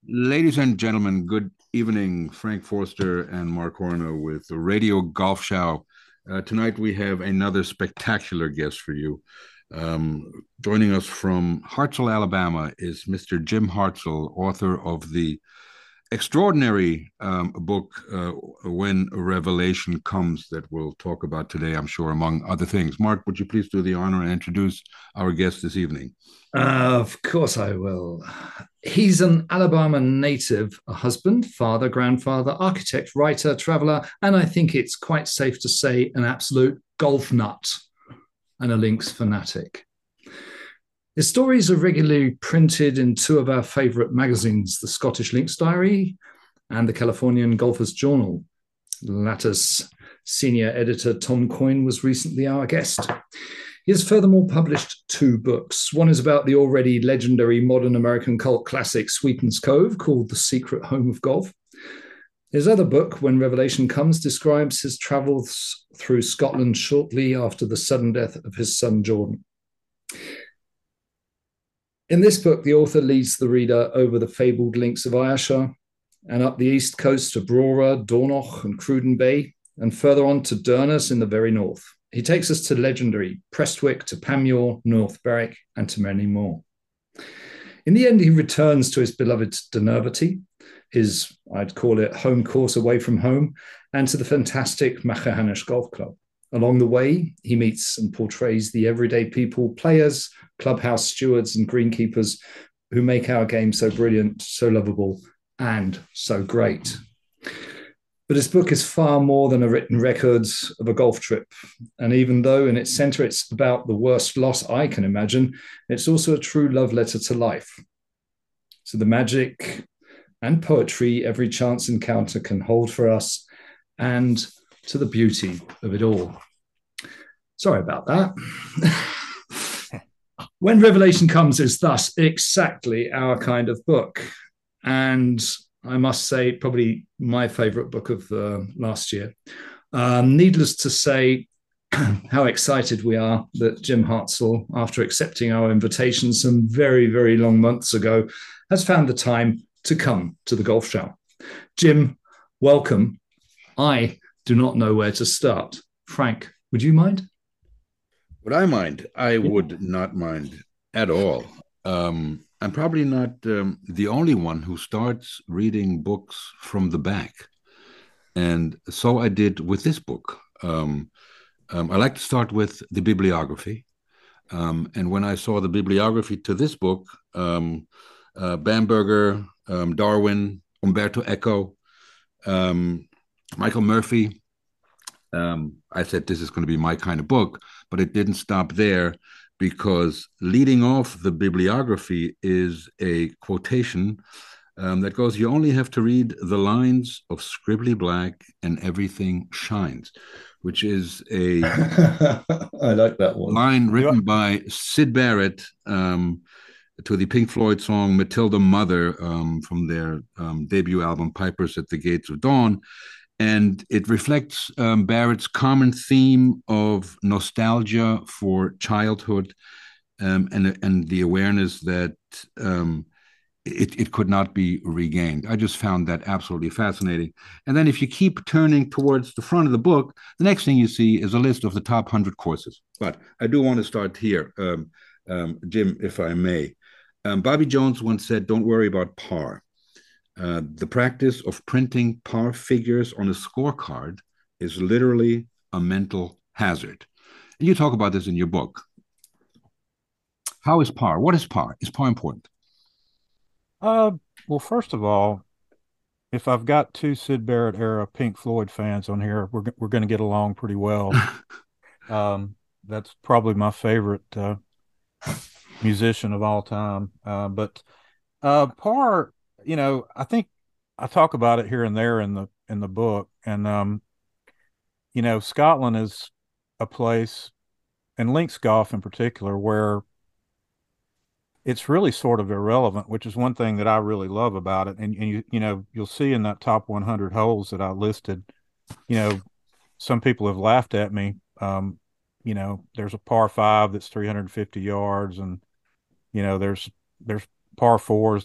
Ladies and gentlemen, good evening. Frank Forster and Mark Horner with the Radio Golf Show. Tonight we have another spectacular guest for you. Joining us from Hartselle, Alabama is Mr. Jim Hartzell, author of the extraordinary book, When a Revelation Comes, that we'll talk about today, I'm sure, among other things. Mark, would you please do the honor and introduce our guest this evening? Of course I will. He's an Alabama native, a husband, father, grandfather, architect, writer, traveler, and I think it's quite safe to say an absolute golf nut and a links fanatic. His stories are regularly printed in two of our favourite magazines, the Scottish Links Diary and the Californian Golfers Journal. The latter's senior editor, Tom Coyne, was recently our guest. He has furthermore published two books. One is about the already legendary modern American cult classic Sweetens Cove, called The Secret Home of Golf. His other book, When Revelation Comes, describes his travels through Scotland shortly after the sudden death of his son Jordan. In this book, the author leads the reader over the fabled links of Ayrshire and up the east coast to Brora, Dornoch, and Cruden Bay, and further on to Durness in the very north. He takes us to legendary Prestwick, to Panmure, North Berwick, and to many more. In the end, he returns to his beloved Dunervety, his, I'd call it, home course away from home, and to the fantastic Machrihanish Golf Club. Along the way, he meets and portrays the everyday people, players, clubhouse stewards, and greenkeepers who make our game so brilliant, so lovable, and so great. But his book is far more than a written record of a golf trip. And even though in its center it's about the worst loss I can imagine, it's also a true love letter to life. So the magic and poetry every chance encounter can hold for us, and to the beauty of it all. Sorry about that. When Revelation Comes is thus exactly our kind of book. And I must say, probably my favorite book of last year. Needless to say, how excited we are that Jim Hartzell, after accepting our invitation some very, very long months ago, has found the time to come to the golf show. Jim, welcome. I do not know where to start. Frank, would you mind? Would I mind? I Yeah. would not mind at all. I'm probably not the only one who starts reading books from the back. And so I did with this book. I like to start with the bibliography. And when I saw the bibliography to this book, Bamberger, Darwin, Umberto Eco, Michael Murphy, I said, this is going to be my kind of book, but it didn't stop there, because leading off the bibliography is a quotation that goes, "You only have to read the lines of scribbly black and everything shines," which is a I like that one. line written by Syd Barrett to the Pink Floyd song Matilda Mother from their debut album Pipers at the Gates of Dawn. And it reflects Barrett's common theme of nostalgia for childhood, and the awareness that it could not be regained. I just found that absolutely fascinating. And then if you keep turning towards the front of the book, the next thing you see is a list of the top 100 courses. But I do want to start here, Jim, if I may. Bobby Jones once said, "Don't worry about par. The practice of printing par figures on a scorecard is literally a mental hazard." And you talk about this in your book. How is par? What is par? Is par important? Uh, well, first of all, if I've got two Sid Barrett era Pink Floyd fans on here, we're going to get along pretty well. That's probably my favorite musician of all time. But Parr, I think I talk about it here and there in the book, and Scotland is a place, and links golf in particular, where it's really sort of irrelevant, which is one thing that I really love about it. And you'll see in that top 100 holes that I listed, you know, some people have laughed at me. There's a par five that's 350 yards, and there's par fours that are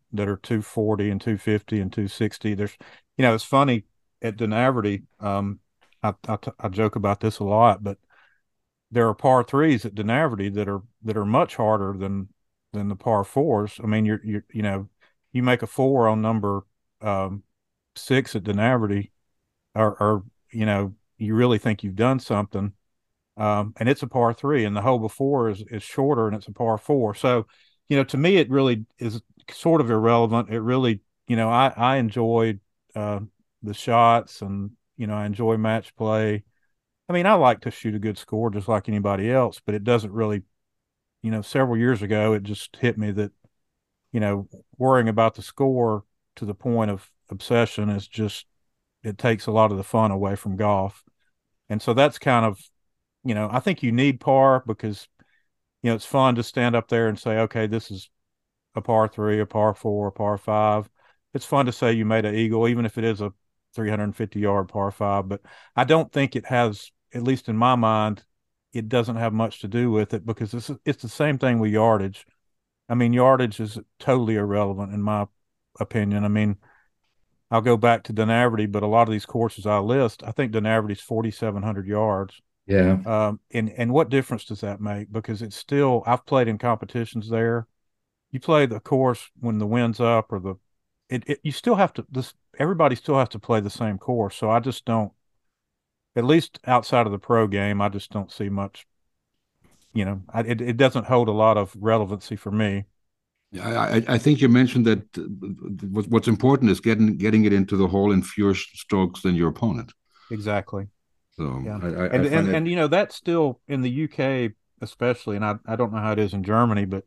that are 240 and 250 and 260. There's, it's funny at Dunaverty. I joke about this a lot, but there are par threes at Dunaverty that are much harder than the par fours. I mean, you make a four on number 6 at Dunaverty, or you really think you've done something. And it's a par three, and the hole before is shorter, and it's a par four. So, to me, it really is sort of irrelevant. It really, I enjoy the shots, and I enjoy match play. I mean, I like to shoot a good score just like anybody else, but it doesn't really, several years ago, it just hit me that, worrying about the score to the point of obsession is just, it takes a lot of the fun away from golf. And so that's kind of, I think you need par because, it's fun to stand up there and say, okay, this is a par three, a par four, a par five. It's fun to say you made an eagle, even if it is a 350-yard par five. But I don't think it has, at least in my mind, it doesn't have much to do with it because it's the same thing with yardage. I mean, yardage is totally irrelevant in my opinion. I mean, I'll go back to Dunaverty, but a lot of these courses I list, I think Dunaverty's 4,700 yards. Yeah. And what difference does that make? Because it's still, I've played in competitions there. You play the course when the wind's up or you still have to, everybody still has to play the same course. So I just don't, at least outside of the pro game, I just don't see much, it doesn't hold a lot of relevancy for me. I think you mentioned that what's important is getting it into the hole in fewer strokes than your opponent. Exactly. So yeah. And that's still in the UK especially, and I don't know how it is in Germany, but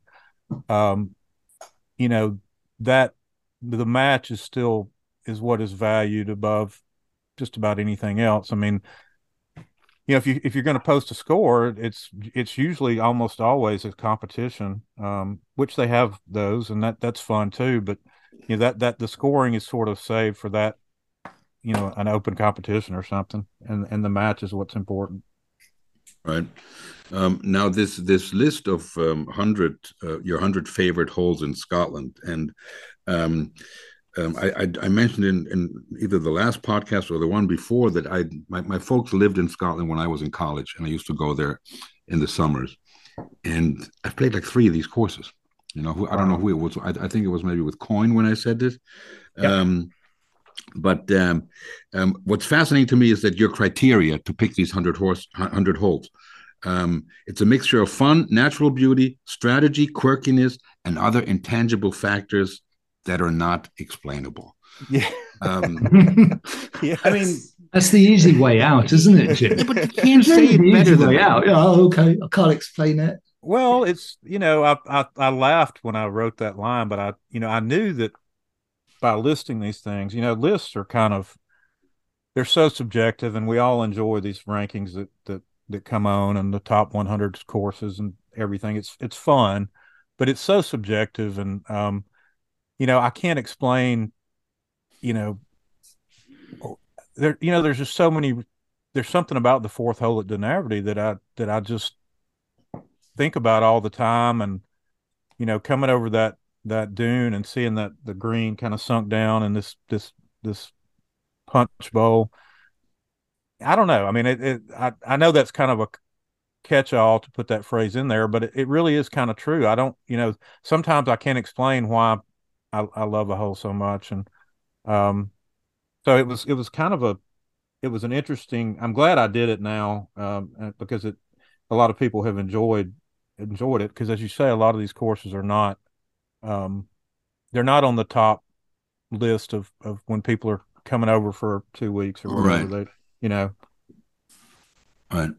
that the match is what is valued above just about anything else. I mean, if you're going to post a score, it's usually almost always a competition, which they have those, and that's fun too. But that the scoring is sort of saved for that, an open competition or something, and the match is what's important. Right. Now this list of your 100 favorite holes in Scotland, and I mentioned in either the last podcast or the one before that my folks lived in Scotland when I was in college, and I used to go there in the summers, and I've played like 3 of these courses. I don't know who it was. I think it was maybe with Coyne when I said this. Yep. But what's fascinating to me is that your criteria to pick these 100 holes. It's a mixture of fun, natural beauty, strategy, quirkiness, and other intangible factors that are not explainable. Yeah. Yes. I mean, that's the easy way out, isn't it, Jim? Yeah, but you can't say it better than out. Oh, okay. I can't explain it. Well, it's, I laughed when I wrote that line, but I knew that by listing these things, lists are they're so subjective, and we all enjoy these rankings that come on and the top 100 courses and everything. It's fun, but it's so subjective. And, I can't explain, there's just so many, there's something about the 4th hole at Dunaverty that I just think about all the time. And, coming over that dune and seeing that the green kind of sunk down in this punch bowl. I don't know. I mean, I know that's kind of a catch-all to put that phrase in there, but it really is kind of true. I don't, sometimes I can't explain why I love a hole so much. And so it was kind of it was an interesting, I'm glad I did it now because a lot of people have enjoyed it because, as you say, a lot of these courses are not, they're not on the top list of when people are coming over for 2 weeks or whatever. Right. Right.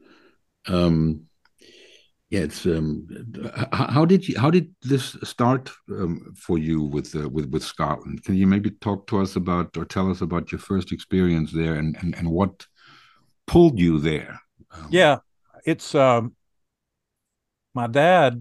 Yeah, it's how did this start for you with Scotland? Can you maybe talk to us about or tell us about your first experience there and what pulled you there? Yeah, it's my dad.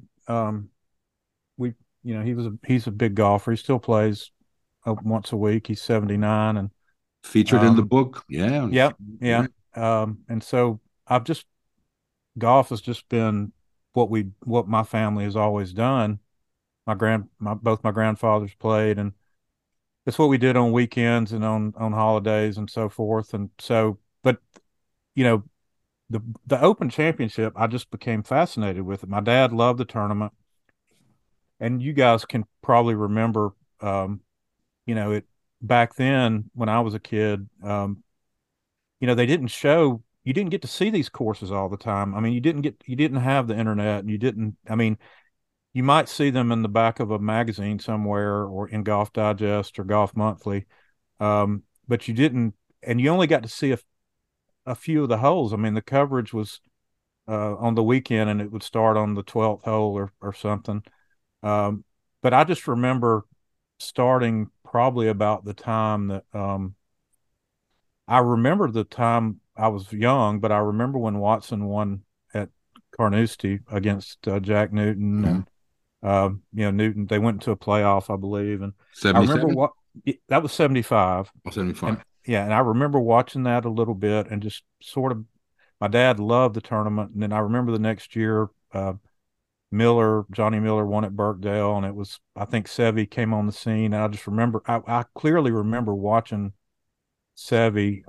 He's a big golfer. He still plays once a week. He's 79 and featured in the book. Yeah. Yep. Yeah. And so golf has just been what my family has always done. both my grandfathers played, and it's what we did on weekends and on holidays and so forth. And so, but you know, the Open Championship, I just became fascinated with it. My dad loved the tournament, and you guys can probably remember, it back then when I was a kid. They didn't show. You didn't get to see these courses all the time. I mean, you didn't have the internet, and you didn't. I mean, you might see them in the back of a magazine somewhere or in Golf Digest or Golf Monthly, but you didn't, and you only got to see a few of the holes. I mean, the coverage was on the weekend, and it would start on the 12th hole or something. But I just remember starting probably about the time that I remember the time I was young, but I remember when Watson won at Carnoustie against Jack Newton, and Newton. They went into a playoff, I believe, and 77? I remember what that was 75. Oh, 75. And I remember watching that a little bit, and just sort of. My dad loved the tournament, and then I remember the next year, Johnny Miller won at Birkdale, and it was, I think, Seve came on the scene, and I just remember, I clearly remember watching Seve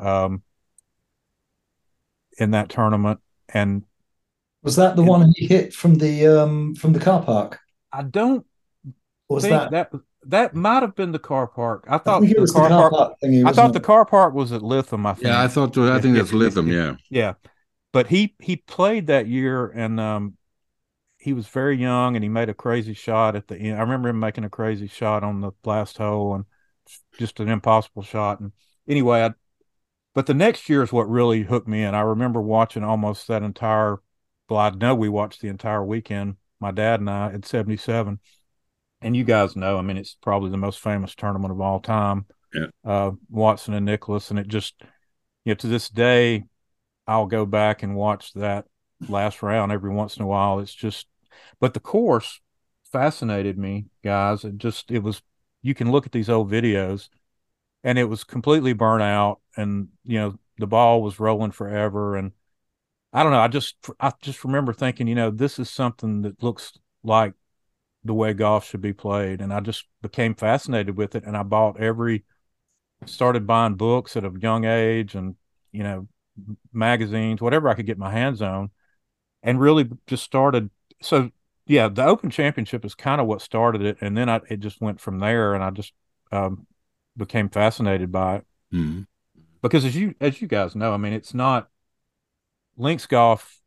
in that tournament. And was that the one he hit from the car park? I don't Or was think that that might have been the car park. I I thought think it the was the car car park. park thingy, I thought wasn't the it? car park was at Lytham. I think. Yeah, I think that's Lytham. Yeah. Yeah. But he played that year, and he was very young, and he made a crazy shot at the end. I remember him making a crazy shot on the last hole, and just an impossible shot. And anyway, but the next year is what really hooked me in. I remember watching almost that entire. Well, I know we watched the entire weekend, my dad and I, at 77. And you guys know, I mean, it's probably the most famous tournament of all time. Yeah. Watson and Nicklaus, and it just, to this day, I'll go back and watch that last round every once in a while. It's just, but the course fascinated me, guys. It was, you can look at these old videos, and it was completely burnt out, and the ball was rolling forever, and I don't know. I just remember thinking, this is something that looks like the way golf should be played, and I just became fascinated with it, and started buying books at a young age, and magazines, whatever I could get my hands on, and really just started. So yeah, the Open Championship is kind of what started it, and then it just went from there, and I just became fascinated by it. Mm-hmm. Because as you guys know, I mean, it's not links golf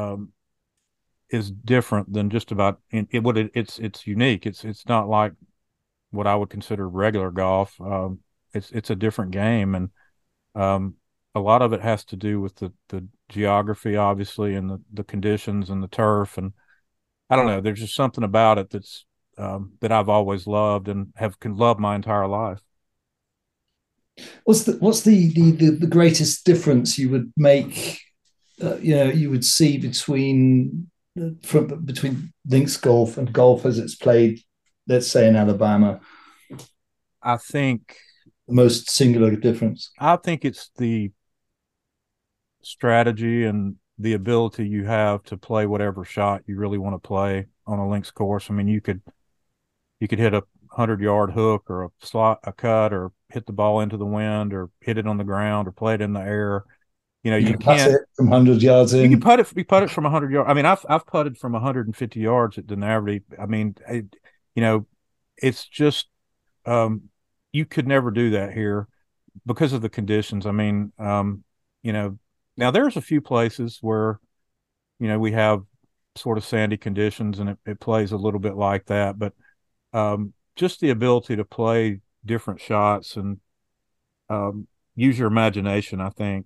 is different than just about it's unique. It's not like what I would consider regular golf. It's a different game, and a lot of it has to do with the geography, obviously, and the conditions and the turf. And I don't know, there's just something about it that's that I've always loved and have loved my entire life. What's the greatest difference you would make? You would see between links golf and golf as it's played, let's say in Alabama. I think the most singular difference. I think it's the strategy and the ability you have to play whatever shot you really want to play on a links course. I mean, you could hit a 100-yard hook or a cut, or hit the ball into the wind, or hit it on the ground, or play it in the air. You can't it from 100 yards in. You can putt it from 100 yards. I mean, I've putted from 150 yards at Denarity. I mean, it's just you could never do that here because of the conditions. I mean, now there's a few places where we have sort of sandy conditions, and it plays a little bit like that. But just the ability to play different shots and use your imagination, I think.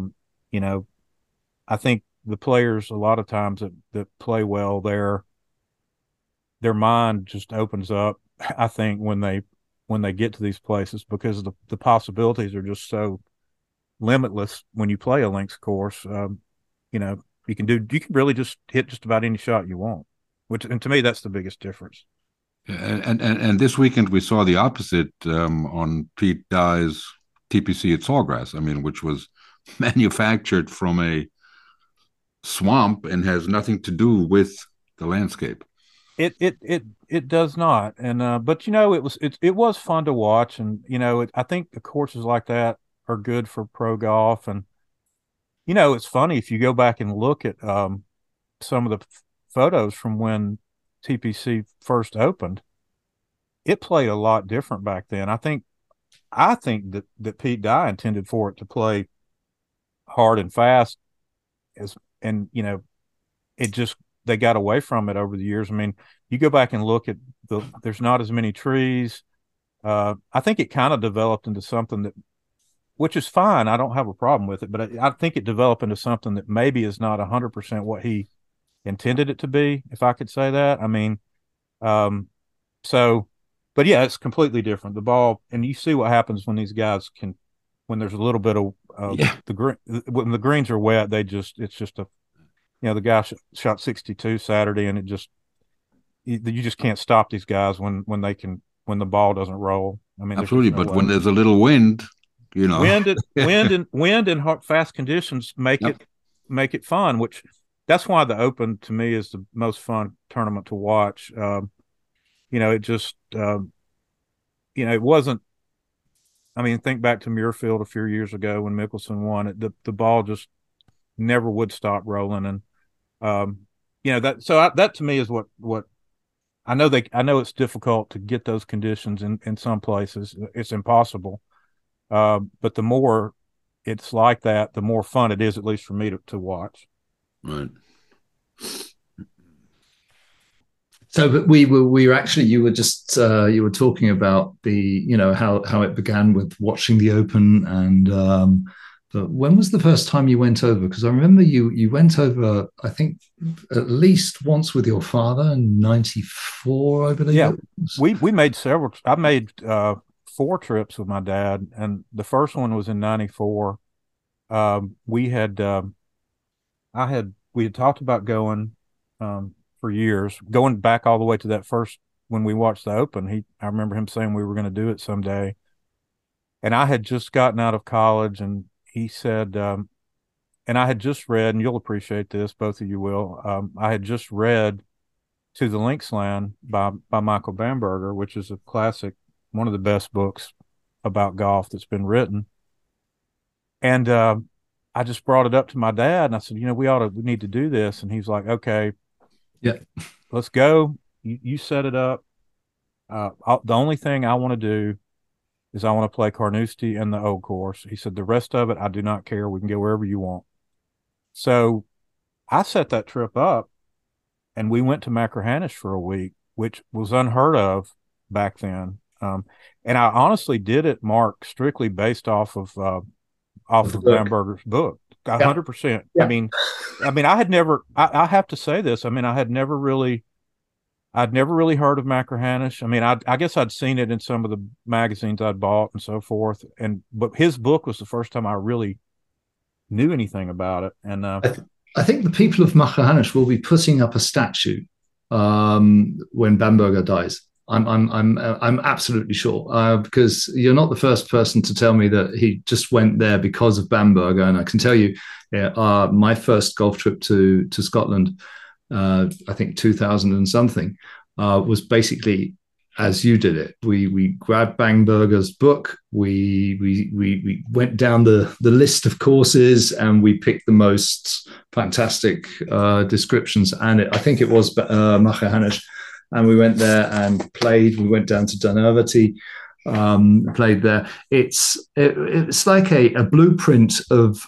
I think the players a lot of times that play well, their mind just opens up. I think when they get to these places, because the possibilities are just so limitless when you play a links course. You can really just hit just about any shot you want, and to me that's the biggest difference. And this weekend we saw the opposite on Pete Dye's TPC at Sawgrass. I mean, which was manufactured from a swamp and has nothing to do with the landscape. It does not, and but it was fun to watch, and I think the courses like that are good for pro golf, and it's funny if you go back and look at some of the photos from when TPC first opened. It played a lot different back then. I think that Pete Dye intended for it to play hard and fast, and it just they got away from it over the years. I mean, you go back and look at there's not as many trees. I think it kind of developed into something that, which is fine. I don't have a problem with it, but I think it developed into something that maybe is not 100% what he intended it to be, if I could say that. I mean, um, so, but yeah, it's completely different. The ball, and you see what happens when these guys when there's a little bit of Yeah, the green, when the greens are wet, it's just the guy shot 62 Saturday, and you just can't stop these guys when the ball doesn't roll. I mean, there's absolutely. just no But way. when there's a little wind, Wind and fast conditions Yep. make it fun. Which that's why the Open to me is the most fun tournament to watch. It just it wasn't. I mean, think back to Muirfield a few years ago when Mickelson won it. The ball just never would stop rolling, and that to me is what I know it's difficult to get those conditions in some places. It's impossible. But the more it's like that, the more fun it is, at least for me to watch. Right. So, but we were actually, you were just you were talking about the, how it began with watching the Open, and but when was the first time you went over? Because I remember you went over, I think, at least once with your father in '94, I believe Yeah, it was. we made several. I made 4 trips with my dad, and the first one was in '94. We had we had talked about going for years, going back all the way to that first when we watched the Open. I remember him saying we were going to do it someday, and I had just gotten out of college, and he said, and I had just read, and you'll appreciate this, both of you will. I had just read To the Linksland by Michael Bamberger, which is a classic, one of the best books about golf that's been written. And I just brought it up to my dad, and I said, we need to do this. And he's like, okay, Yeah, let's go. You set it up. The only thing I want to do is I want to play Carnoustie and the Old Course. He said, the rest of it, I do not care. We can go wherever you want. So I set that trip up, and we went to Machrihanish for a week, which was unheard of back then. And I honestly did it, Mark, strictly based of off the of book. Bamberger's book. A Yeah, 100%. yeah. I mean, I had never. I have to say this. I mean, I'd never really heard of Machrihanish. I mean, I guess I'd seen it in some of the magazines I'd bought and so forth. But his book was the first time I really knew anything about it. And I think the people of Machrihanish will be putting up a statue when Bamberger dies. I'm absolutely sure because you're not the first person to tell me that he just went there because of Bamberger, and I can tell you, yeah, my first golf trip to Scotland, I think 2000 and something, was basically as you did it. We grabbed Bamberger's book. We went down the list of courses, and we picked the most fantastic descriptions. And I think it was Machrihanish, and we went there and played. We went down to Dunaverty, played there. It's like a blueprint of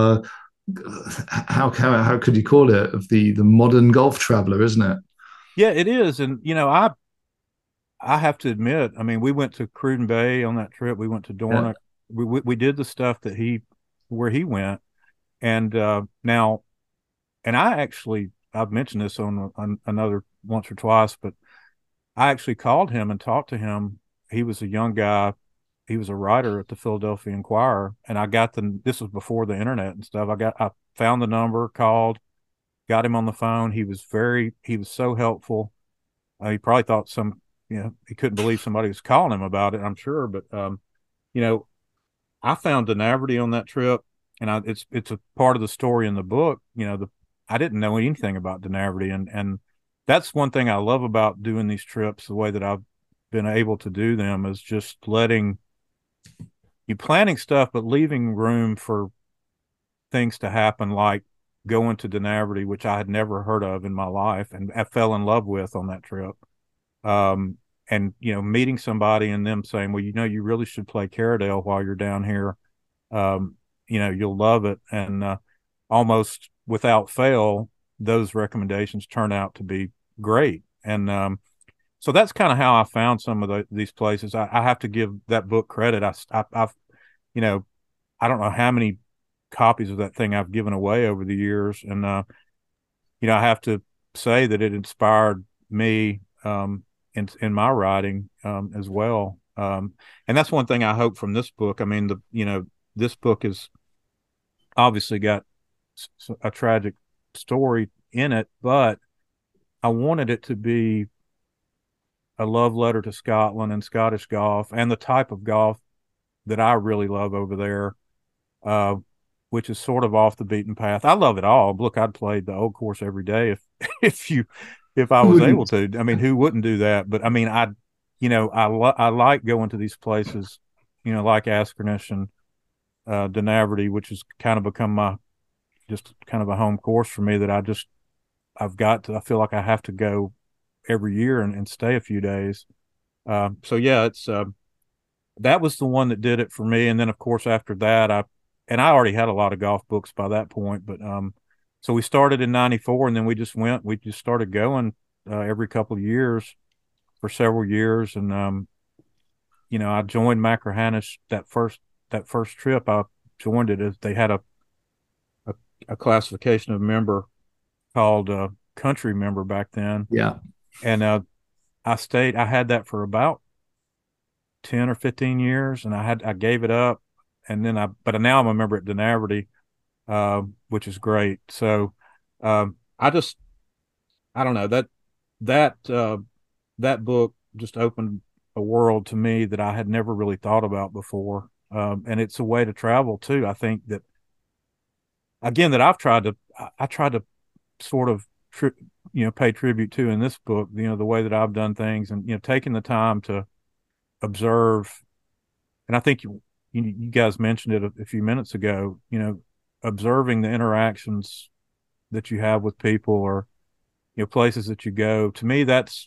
how could you call it, of the modern golf traveler, isn't it? yeah, it is. And I have to admit, I mean, we went to Cruden Bay on that trip. We went to Yeah. Dornoch. We did the stuff that where he went. And now, and I've mentioned this on another once or twice, but I actually called him and talked to him. He was a young guy. He was a writer at the Philadelphia Inquirer, and this was before the internet and stuff. I found the number, called, got him on the phone. He was so helpful. He probably thought he couldn't believe somebody was calling him about it, I'm sure. But you know, I found Denaverty on that trip, and it's a part of the story in the book. I didn't know anything about Denaverty, and that's one thing I love about doing these trips, the way that I've been able to do them, is just letting you planning stuff, but leaving room for things to happen, like going to Denaverty, which I had never heard of in my life and I fell in love with on that trip. And, meeting somebody and them saying, well, you really should play Caradale while you're down here. You'll love it. And almost without fail, those recommendations turn out to be great. And so that's kind of how I found some of these places. I have to give that book credit. I've I don't know how many copies of that thing I've given away over the years. And, I have to say that it inspired me in my writing as well. And that's one thing I hope from this book. I mean, this book has obviously got a tragic story in it, but I wanted it to be a love letter to Scotland and Scottish golf and the type of golf that I really love over there, which is sort of off the beaten path. I love it all. Look, I'd play the Old Course every day if I was able to. I mean, who wouldn't do that? But I mean, I like going to these places, like Askernish and Denaverty, which has kind of become just kind of a home course for me, that I feel like I have to go every year and stay a few days. So yeah, it's that was the one that did it for me. And then of course after that, I already had a lot of golf books by that point, but so we started in 94 and then we just started going every couple of years for several years. And I joined Machrihanish that first trip. I joined it as they had a classification of member called country member back then. Yeah. And I had that for about 10 or 15 years, and I gave it up, and then but now I'm a member at Denaverty, which is great. So I don't know, that book just opened a world to me that I had never really thought about before. And it's a way to travel too. I think that, again, that I tried to sort of pay tribute to in this book, the way that I've done things, and taking the time to observe. And I think you guys mentioned it a few minutes ago, observing the interactions that you have with people, or places that you go. To me, that's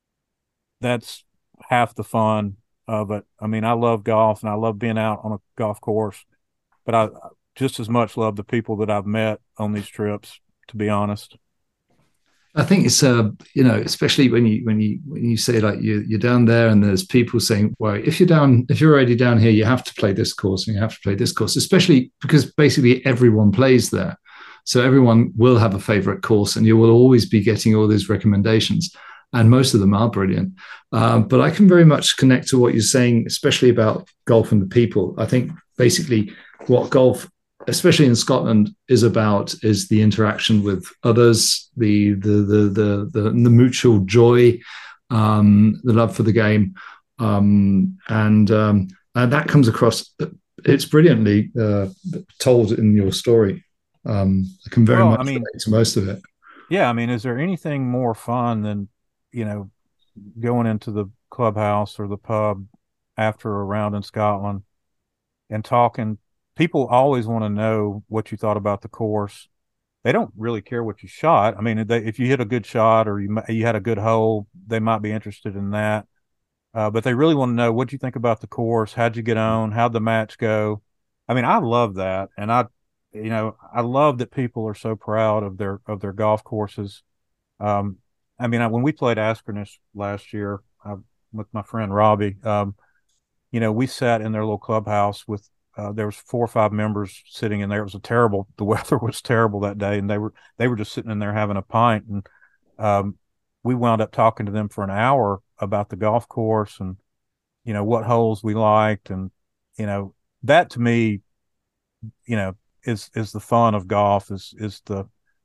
half the fun of it. I mean, I love golf and I love being out on a golf course, but I just as much love the people that I've met on these trips, to be honest. I think it's especially when you say, like, you're down there and there's people saying, well, if you're already down here, you have to play this course and you have to play this course, especially because basically everyone plays there. So everyone will have a favorite course and you will always be getting all these recommendations, and most of them are brilliant. But I can very much connect to what you're saying, especially about golf and the people. I think basically what golf, especially in Scotland, is about is the interaction with others, the mutual joy, the love for the game, and that comes across. It's brilliantly told in your story. I can very much relate to most of it. Yeah, I mean, is there anything more fun than going into the clubhouse or the pub after a round in Scotland and talking? People always want to know what you thought about the course. They don't really care what you shot. I mean, if you hit a good shot or you had a good hole, they might be interested in that. But they really want to know what you think about the course. How'd you get on? How'd the match go? I mean, I love that, and I love that people are so proud of their golf courses. I mean, when we played Askernish last year with my friend Robbie, we sat in their little clubhouse with. There was 4 or 5 members sitting in there. The weather was terrible that day, and they were just sitting in there having a pint. And we wound up talking to them for an hour about the golf course and, what holes we liked. And, that to me, is the fun of golf, is the,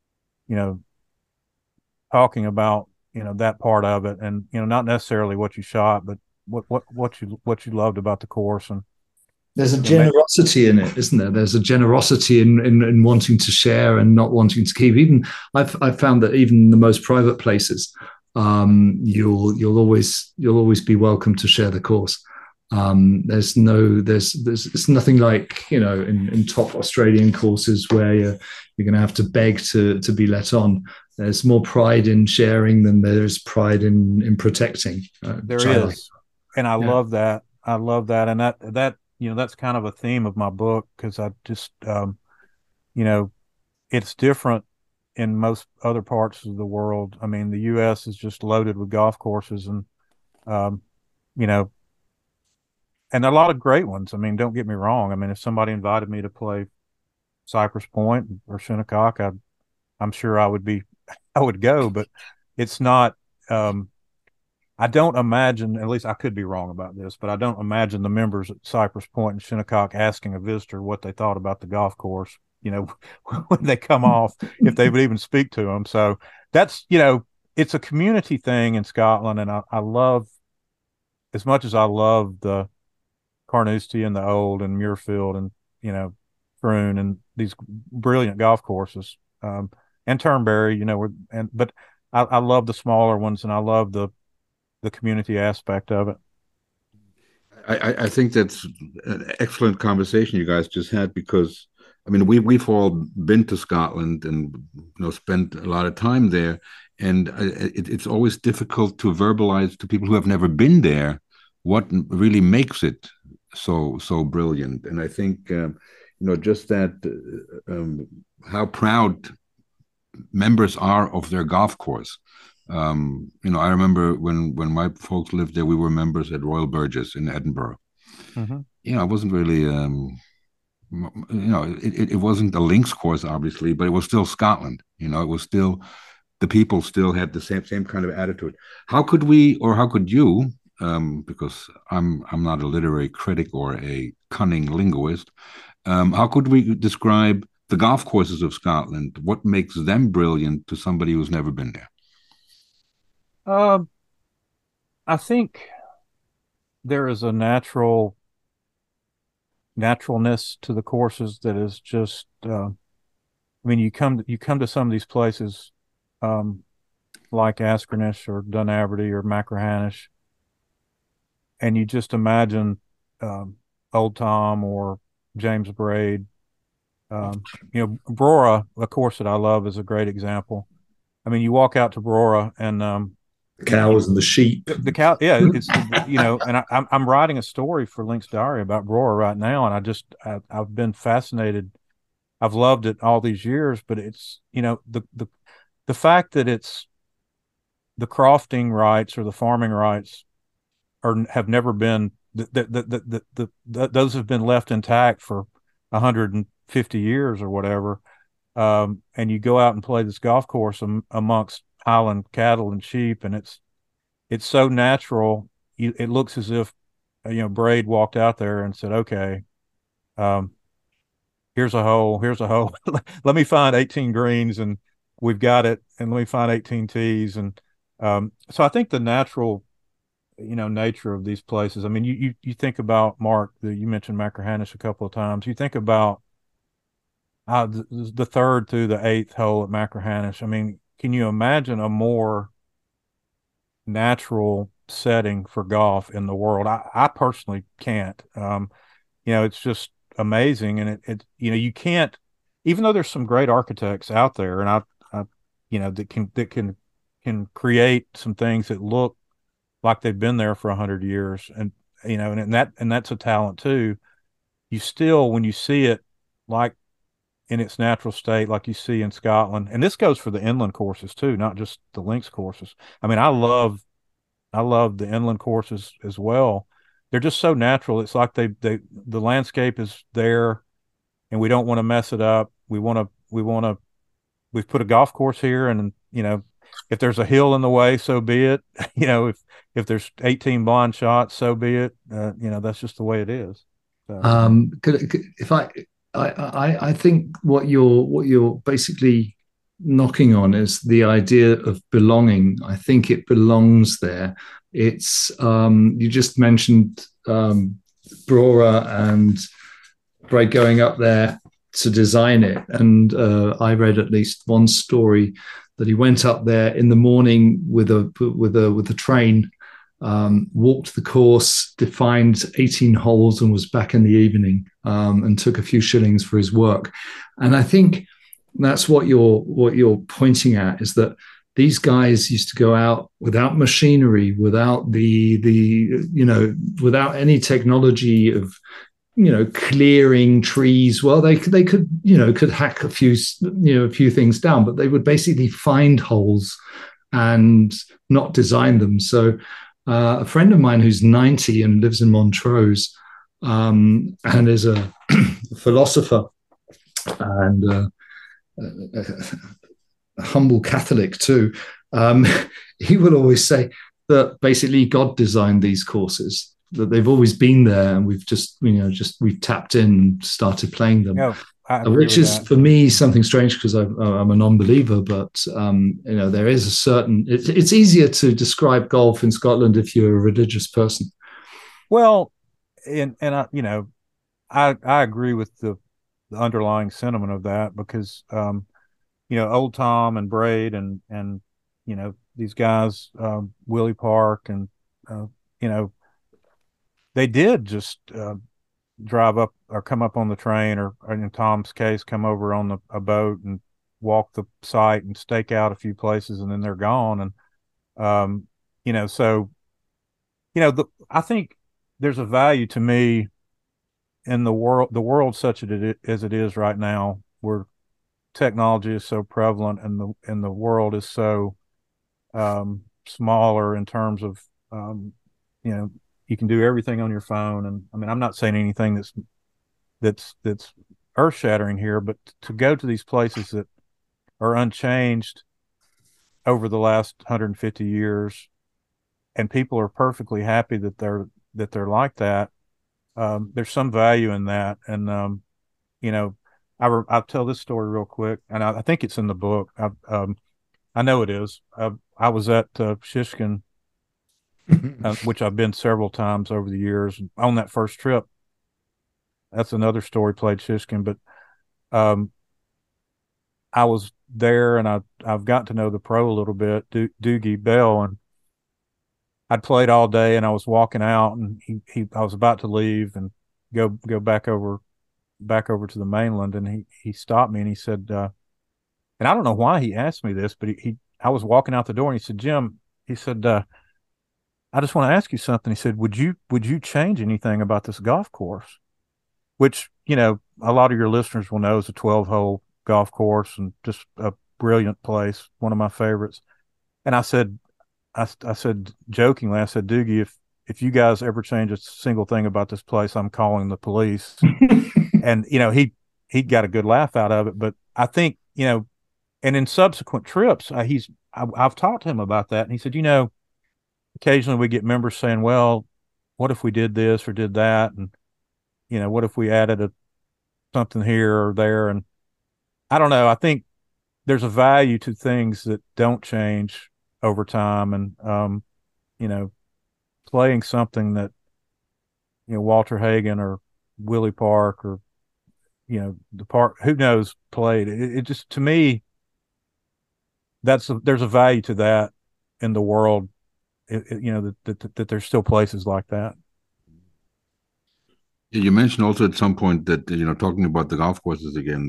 talking about, that part of it, and, not necessarily what you shot, but what you loved about the course. And There's a generosity in it, isn't there? There's a generosity in wanting to share and not wanting to keep. Even I've found that even in the most private places, you'll always be welcome to share the course. There's it's nothing like, you know, in top Australian courses where you're going to have to beg to be let on. There's more pride in sharing than there is pride in protecting. There is, and I love that. I love that, and that you know, that's kind of a theme of my book, because I just you know, it's different in most other parts of the world. I mean, the U.S. is just loaded with golf courses, and you know, and a lot of great ones. I mean, don't get me wrong. I mean, if somebody invited me to play Cypress Point or Shinnecock, I'm sure I would go, but it's not. I don't imagine, at least I could be wrong about this, but I don't imagine the members at Cypress Point and Shinnecock asking a visitor what they thought about the golf course, you know, when they come off, if they would even speak to them. So that's, you know, it's a community thing in Scotland. And I love, as much as I love the Carnoustie and the Old and Muirfield and, you know, Troon and these brilliant golf courses, and Turnberry, you know, but I love the smaller ones, and I love the community aspect of it. I think that's an excellent conversation you guys just had, because I mean we've all been to Scotland and, you know, spent a lot of time there, and it's always difficult to verbalize to people who have never been there what really makes it so brilliant. And I think you know, just that how proud members are of their golf course. You know, I remember when my folks lived there, we were members at Royal Burgess in Edinburgh. Mm-hmm. You know, it wasn't really, you know, it wasn't a links course, obviously, but it was still Scotland. You know, it was still, the people still had the same kind of attitude. How could we, or how could you, because I'm not a literary critic or a cunning linguist, how could we describe the golf courses of Scotland? What makes them brilliant to somebody who's never been there? I think there is a naturalness to the courses that is just. I mean, you come to some of these places, like Askernish or Dunaverty or Machrihanish, and you just imagine Old Tom or James Braid. You know, Brora, a course that I love, is a great example. I mean, you walk out to Brora and the cows and the sheep. The cow, yeah, it's, you know, and I'm writing a story for Link's Diary about Brora right now, and I've been fascinated. I've loved it all these years, but it's, you know, the fact that it's the crofting rights or the farming rights have never been those have been left intact for 150 years or whatever. And you go out and play this golf course amongst Highland cattle and sheep, and it's so natural. It looks as if, you know, Braid walked out there and said, "Okay, here's a hole. Let me find 18 greens, and we've got it. And let me find 18 tees." And so I think the natural, you know, nature of these places. I mean, you think about, Mark, you mentioned Machrihanish a couple of times. You think about the third through the eighth hole at Machrihanish. I mean, can you imagine a more natural setting for golf in the world? I personally can't. You know, it's just amazing, and it you know, you can't, even though there's some great architects out there, and I you know, that can create some things that look like they've been there for 100 years, and you know, and that's a talent too. You still, when you see it like in its natural state, like you see in Scotland, and this goes for the inland courses too, not just the links courses. I mean, I love the inland courses as well. They're just so natural. It's like the landscape is there, and we don't want to mess it up. We've put a golf course here, and, you know, if there's a hill in the way, so be it. You know, if there's 18 blind shots, so be it. You know, that's just the way it is. So. If I think what you're basically knocking on is the idea of belonging. I think it belongs there. It's you just mentioned Brora and Bray going up there to design it. And I read at least one story that he went up there in the morning with a train, walked the course, defined 18 holes, and was back in the evening, and took a few shillings for his work. And I think that's what you're pointing at, is that these guys used to go out without machinery, without without any technology of clearing trees. Well, they could hack a few things down, but they would basically find holes and not design them. So a friend of mine who's 90 and lives in Montrose, and is a philosopher and a humble Catholic too, he would always say that basically God designed these courses, that they've always been there, and we've we've tapped in and started playing them. Which is for me something strange, because I'm a non-believer, but there is a certain. It's easier to describe golf in Scotland if you're a religious person. Well, and I agree with the underlying sentiment of that, because Old Tom and Braid and these guys, Willie Park, and they did just drive up or come up on the train, or in Tom's case, come over on a boat and walk the site and stake out a few places, and then they're gone. And I think there's a value to me in the world such as it is right now, where technology is so prevalent, and the world is so smaller in terms of you can do everything on your phone. And I mean, I'm not saying anything that's earth shattering here, but to go to these places that are unchanged over the last 150 years, and people are perfectly happy that they're like that. There's some value in that. And I'll tell this story real quick, and I think it's in the book. I know it is. I was at Shishkin, which I've been several times over the years. On that first trip, that's another story, played Shishkin, but I was there, and I've gotten to know the pro a little bit, Doogie Bell, and I'd played all day, and I was walking out, and I was about to leave and go back over to the mainland, and he stopped me, and he said, and I don't know why he asked me this, but I was walking out the door, and he said, "Jim," he said, "I just want to ask you something." He said, "Would you change anything about this golf course?" Which, a lot of your listeners will know is a 12-hole golf course, and just a brilliant place, one of my favorites. And I said jokingly, I said, "Doogie, if you guys ever change a single thing about this place, I'm calling the police." And he got a good laugh out of it. But I think, and in subsequent trips, I've talked to him about that, and he said, occasionally we get members saying, "Well, what if we did this or did that, and what if we added something here or there?" And I don't know. I think there's a value to things that don't change over time, and playing something that Walter Hagen or Willie Park, or the Park, who knows, played. It just, to me, there's a value to that in the world. That there's still places like that. You mentioned also at some point that talking about the golf courses again,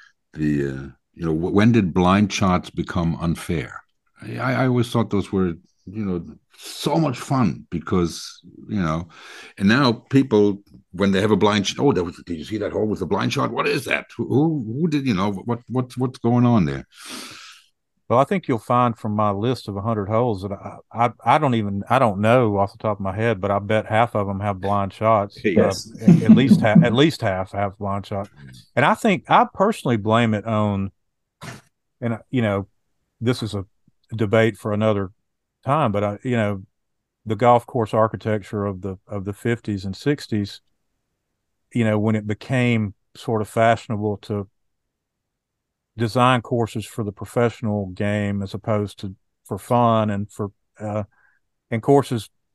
when did blind shots become unfair? I always thought those were so much fun, because and now people, when they have a blind shot, oh, did you see that hole with the blind shot? What is that? Who did what's going on there? Well, I think you'll find from my list of 100 holes that I don't know off the top of my head, but I bet half of them have blind shots. Yes. At least half have blind shots. And I think I personally blame it on, and this is a debate for another time, but the golf course architecture of the 50s and 60s, when it became sort of fashionable to design courses for the professional game as opposed to for fun, and for and courses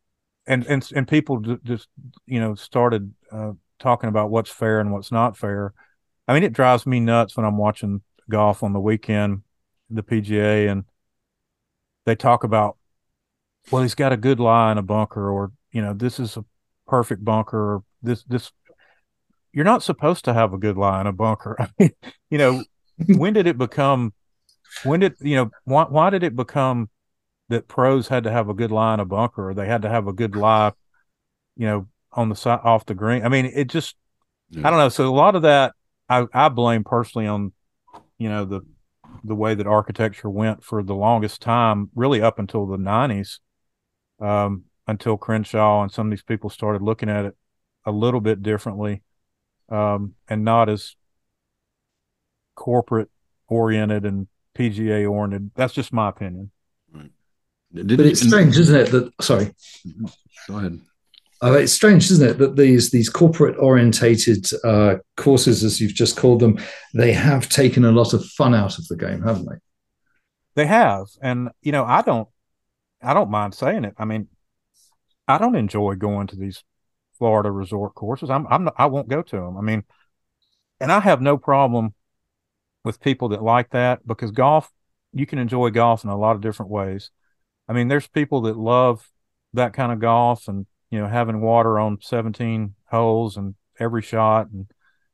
and people just started talking about what's fair and what's not fair. I mean, it drives me nuts when I'm watching golf on the weekend, the PGA, and they talk about, well, he's got a good lie in a bunker, or this is a perfect bunker, or this. You're not supposed to have a good lie in a bunker. I mean, when did it become? Why did it become that pros had to have a good lie in a bunker, or they had to have a good lie, on the side off the green? I mean, it just, I don't know. So a lot of that I blame personally on, the way that architecture went for the longest time, really up until the 90s, until Crenshaw and some of these people started looking at it a little bit differently, and not as corporate oriented and PGA oriented. That's just my opinion. Right. But it's strange, isn't it? That sorry. Go ahead. It's strange, isn't it, that these corporate orientated courses, as you've just called them, they have taken a lot of fun out of the game, haven't they? They have, and I don't mind saying it. I mean, I don't enjoy going to these Florida resort courses. I won't go to them. I mean, and I have no problem with people that like that, because golf, you can enjoy golf in a lot of different ways. I mean, there's people that love that kind of golf, and having water on 17 holes and every shot, and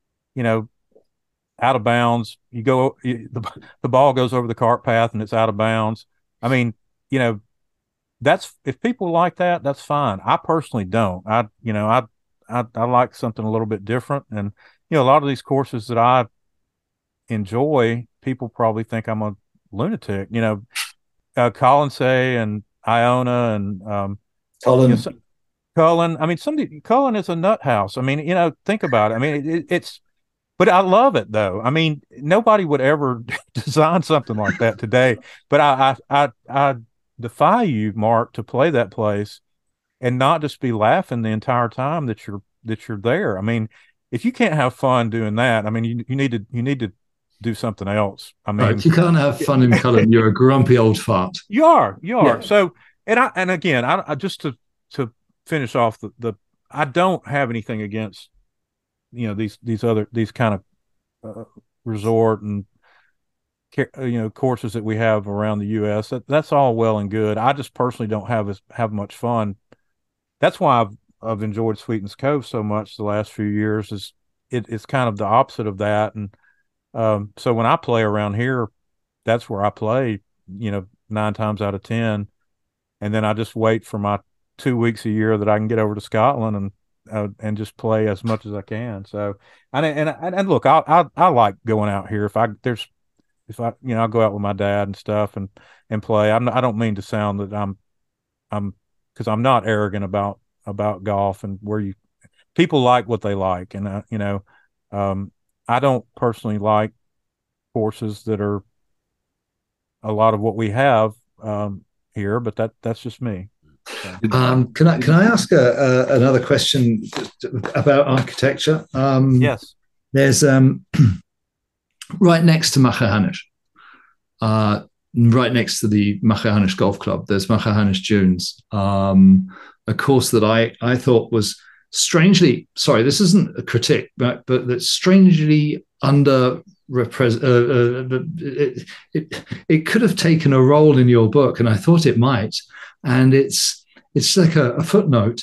out of bounds, the ball goes over the cart path and it's out of bounds. I mean, that's, if people like that, that's fine. I personally don't. I like something a little bit different, and a lot of these courses that I enjoy, people probably think I'm a lunatic. Colonsay and Iona and Colin. Cullen. I mean, Cullen is a nut house. I mean, think about it. I mean, but I love it though. I mean, nobody would ever design something like that today. But I defy you, Mark, to play that place and not just be laughing the entire time that you're there. I mean, if you can't have fun doing that, I mean, you need to do something else. I mean, if you can't have fun in Cullen, you're a grumpy old fart. You are. Yeah. So, and again, I just to finish off I don't have anything against these kind of resort and courses that we have around the U.S. That's all well and good. I just personally don't have much fun. That's why I've enjoyed Sweetens Cove so much the last few years. Is it's kind of the opposite of that, and so when I play around here, that's where I play. 9 times out of 10, and then I just wait for my 2 weeks a year that I can get over to Scotland and just play as much as I can. So, and look, I like going out here. If I I'll go out with my dad and stuff and play. I don't mean to sound that I'm because I'm not arrogant about golf, and people like what they like, and I don't personally like courses that are a lot of what we have here, but that's just me. So. Can I ask another question about architecture? Yes. There's right next to Machrihanish, right next to the Machrihanish Golf Club, there's Machrihanish Dunes, a course that I thought was strangely, sorry, this isn't a critique, but that's strangely under it could have taken a role in your book, and I thought it might. And it's like a footnote,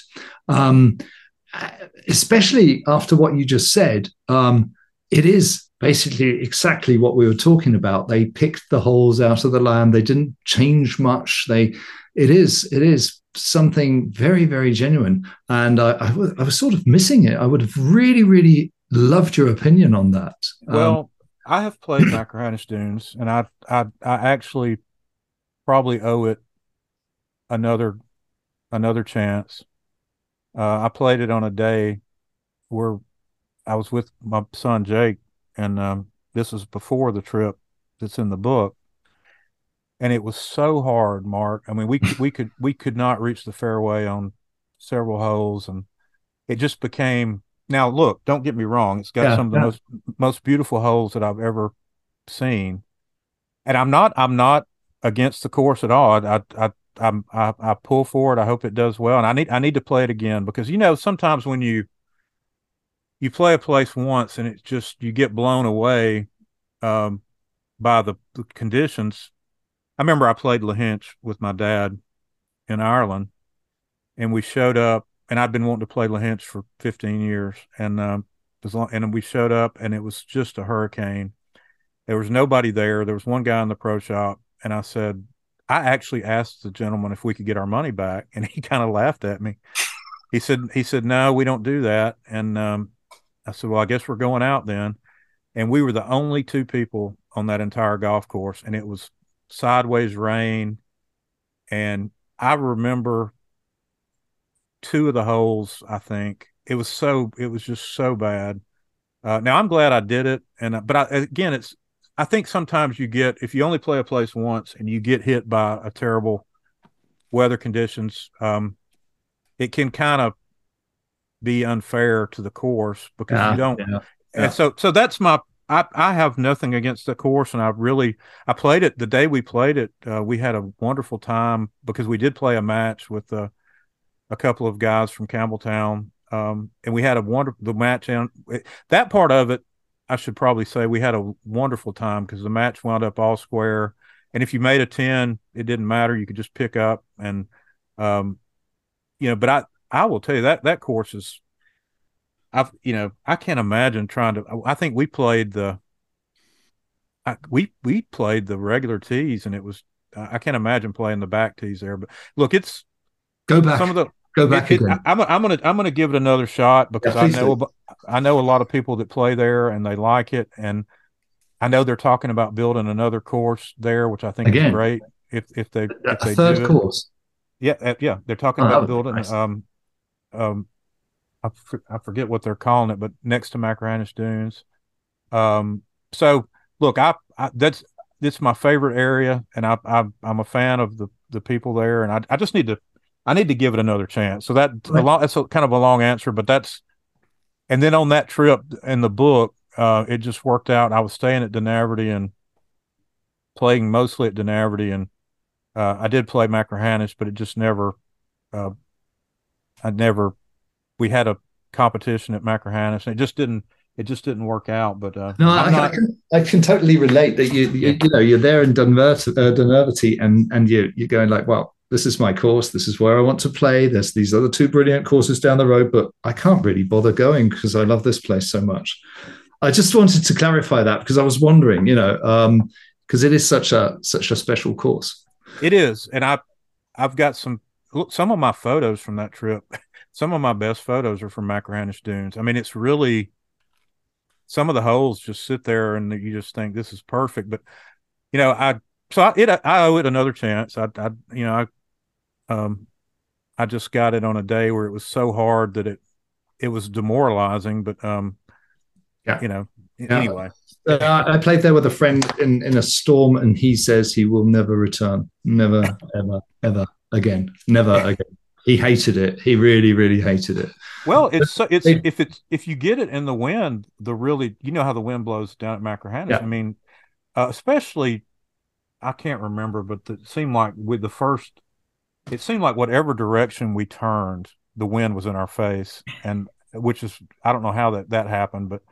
especially after what you just said. It is basically exactly what we were talking about. They picked the holes out of the land. They didn't change much. It is something very, very genuine. And I was sort of missing it. I would have really, really loved your opinion on that. Well, I have played Machrihanish Dunes, and I actually probably owe it another chance. I played it on a day where I was with my son Jake, and this was before the trip that's in the book, and it was so hard, Mark. I mean, we could not reach the fairway on several holes, and it just became. Now, look, don't get me wrong; it's got some of the most beautiful holes that I've ever seen, and I'm not against the course at all. I pull for it. I hope it does well, and I need to play it again because sometimes when you play a place once and it's just you get blown away by the conditions. I remember I played Lahinch with my dad in Ireland, and we showed up, and I'd been wanting to play Lahinch for 15 years, and and we showed up, and it was just a hurricane. There was nobody there. There was one guy in the pro shop, and I actually asked the gentleman if we could get our money back, and he kind of laughed at me. He said, no, we don't do that. And I said, well, I guess we're going out then. And we were the only two people on that entire golf course, and it was sideways rain. And I remember two of the holes, I think. It was just so bad. Now I'm glad I did it. But again, I think sometimes if you only play a place once and you get hit by a terrible weather conditions, it can kind of be unfair to the course because you don't. Yeah. And so that's I have nothing against the course, and I played it the day we played it. We had a wonderful time because we did play a match with a couple of guys from Campbelltown, and we had the match. And that part of it, I should probably say, we had a wonderful time because the match wound up all square. And if you made a 10, it didn't matter; you could just pick up. And but I will tell you that course is. I can't imagine trying to. I think we played we played the regular tees, and it was. I can't imagine playing the back tees there. But look, it's go back. Go back again. I'm gonna give it another shot because I know a lot of people that play there and they like it, and I know they're talking about building another course there, which I think is great. If they third course, yeah, they're talking about building. Nice. I forget what they're calling it, but next to Machranish Dunes. So look, that's my favorite area, and I'm a fan of the people there, and I just need to give it another chance. So that's kind of a long answer, but and then on that trip in the book, it just worked out. I was staying at Dunaverty and playing mostly at Dunaverty, and I did play Machranish, but it just never. We had a competition at Machranish, and it just didn't work out. But no, I can totally relate that you're there in Dunaverty, and you're going like, well, this is my course, this is where I want to play. There's these other two brilliant courses down the road, but I can't really bother going because I love this place so much. I just wanted to clarify that because I was wondering, because it is such a special course. It is, and I've got some of my photos from that trip. Some of my best photos are from Machranish Dunes. I mean, it's really some of the holes just sit there and you just think this is perfect. But I owe it another chance. I just got it on a day where it was so hard that it was demoralizing. But anyway. I played there with a friend in a storm, and he says he will never return, never, ever, ever again, never again. He hated it. He really, really hated it. Well, if you get it in the wind, how the wind blows down at Machranish. Yeah. I mean, especially, I can't remember, but it seemed like whatever direction we turned, the wind was in our face, and which is, I don't know how that happened, but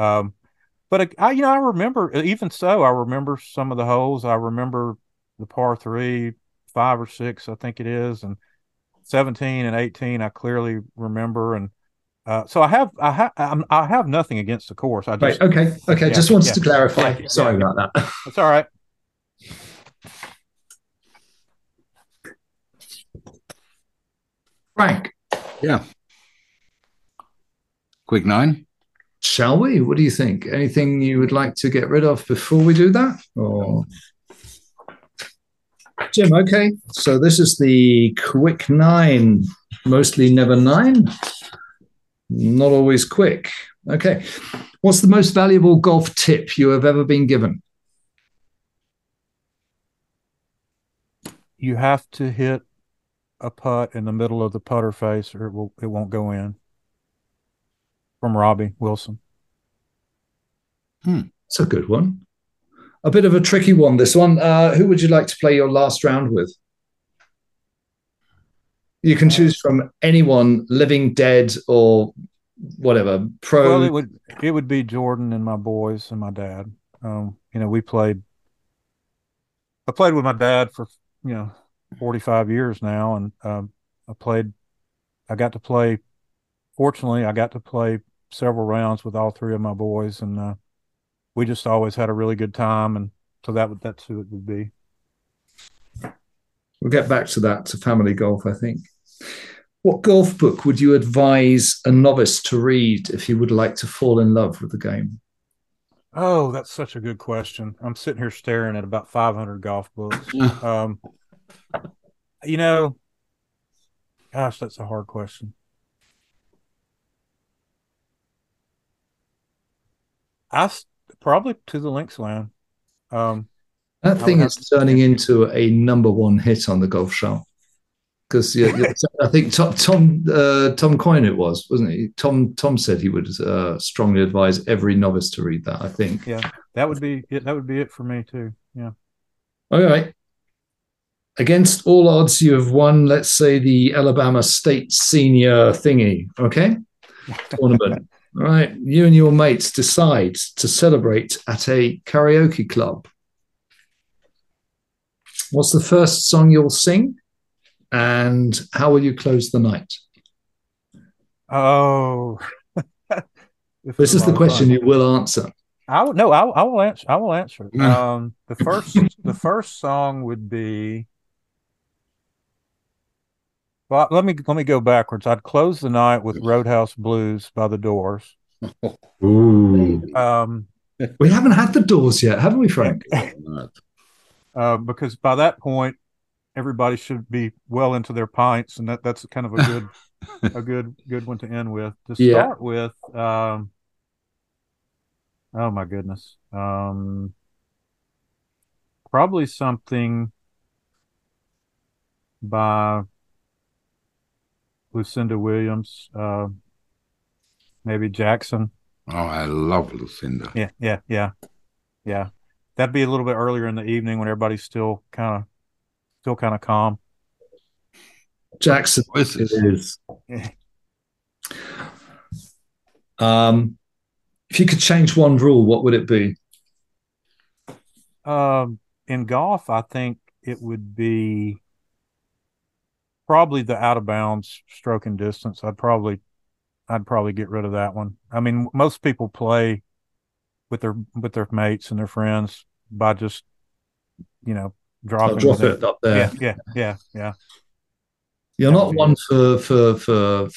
I remember, even so, I remember some of the holes. I remember the par 3, 5 or 6, I think it is, and 17 and 18 I clearly remember. And so I have nothing against the course. Okay. Yeah, just wanted to clarify. Sorry about that. That's all right. Frank. Yeah. Quick 9. Shall we? What do you think? Anything you would like to get rid of before we do that? Or Jim, okay. So this is the quick 9, mostly never 9. Not always quick. Okay. What's the most valuable golf tip you have ever been given? You have to hit a putt in the middle of the putter face or it won't go in. From Robbie Wilson. That's a good one. A bit of a tricky one, this one. Who would you like to play your last round with? You can choose from anyone, living, dead, or whatever. Pro. Well, it would be Jordan and my boys and my dad. We played. I played with my dad for 45 years now, and I played. I got to play. Fortunately, I got to play several rounds with all three of my boys, and we just always had a really good time. And so that's who it would be. We'll get back to that, to family golf, I think. What golf book would you advise a novice to read if he would like to fall in love with the game? Oh, that's such a good question. I'm sitting here staring at about 500 golf books. Gosh, that's a hard question. Probably To the Links Land. That thing is turning into a number one hit on the Golf Show. Because I think Tom Coyne it wasn't he? Tom said he would strongly advise every novice to read that. I think. Yeah, that would be it. That would be it for me too. Yeah. All right. Against all odds, you have won, let's say, the Alabama State Senior thingy. Okay, tournament. All right. You and your mates decide to celebrate at a karaoke club. What's the first song you'll sing? And how will you close the night? Oh, this is the question you will answer. I will answer. I will answer. The first song would be. Well, let me go backwards. I'd close the night with Roadhouse Blues by the Doors. Ooh. We haven't had the Doors yet, haven't we, Frank? Because by that point, everybody should be well into their pints, and that's kind of a good one to end with. To start with, oh my goodness, probably something by Lucinda Williams, maybe Jackson. Oh, I love Lucinda. Yeah. That'd be a little bit earlier in the evening when everybody's still kind of calm. Jackson it is. If you could change one rule, what would it be? In golf, I think it would be probably the out of bounds stroke and distance. I'd probably get rid of that one. I mean, most people play with their mates and their friends by just dropping it up there. Yeah. You're not one for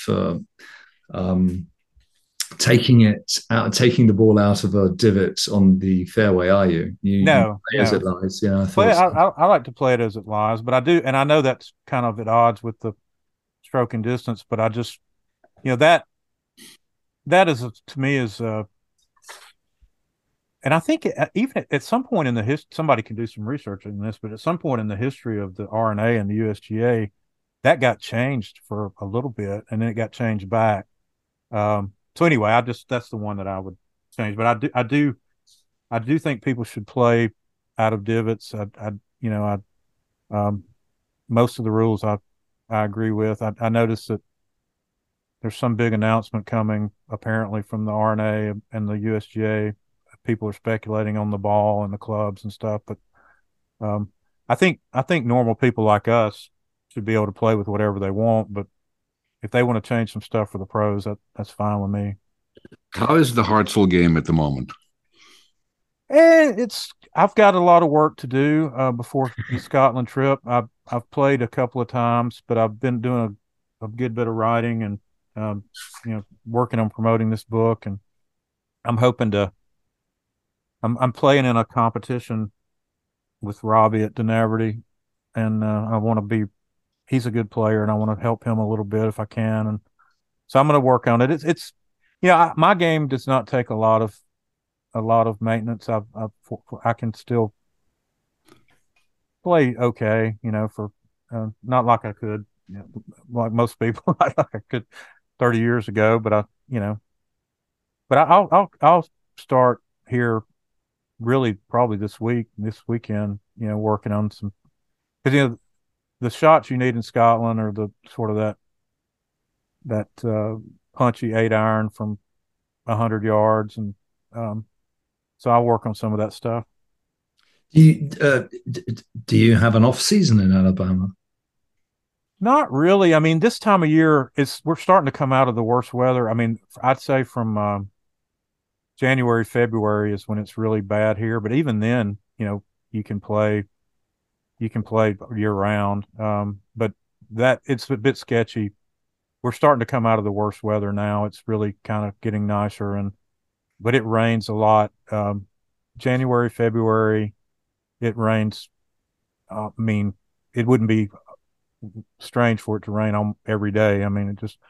taking the ball out of a divot on the fairway, are you? No. As it lies. Yeah, I like to play it as it lies, but I do, and I know that's kind of at odds with the stroke and distance, but I just, that is to me is, and I think even at some point in the history, somebody can do some research on this, but at some point in the history of the R&A and the USGA, that got changed for a little bit, and then it got changed back. So anyway, that's the one that I would change. But I do think people should play out of divots. Most of the rules I agree with. I noticed that there's some big announcement coming apparently from the R&A and the USGA. People are speculating on the ball and the clubs and stuff, but I think normal people like us should be able to play with whatever they want. But if they want to change some stuff for the pros, that's fine with me. How is the Hartsville game at the moment? I've got a lot of work to do before the Scotland trip. I've played a couple of times, but I've been doing a good bit of writing and working on promoting this book, and I'm hoping to. I'm playing in a competition with Robbie at Denaverty, and I want to be. He's a good player, and I want to help him a little bit if I can, and so I'm going to work on it. My game does not take a lot of maintenance. I can still play okay, for not like I could, like most people, like I could 30 years ago. But I'll start here, really probably this weekend, working on some, because the shots you need in Scotland are the sort of that punchy 8-iron from 100 yards, and so I work on some of that stuff. Do you have an off season in Alabama? Not really. I mean, this time of year, we're starting to come out of the worst weather. I mean, I'd say from January, February is when it's really bad here. But even then, you can play year round. But it's a bit sketchy. We're starting to come out of the worst weather now. It's really kind of getting nicer, but it rains a lot. January, February, it rains. I mean, it wouldn't be strange for it to rain on every day. I mean, it just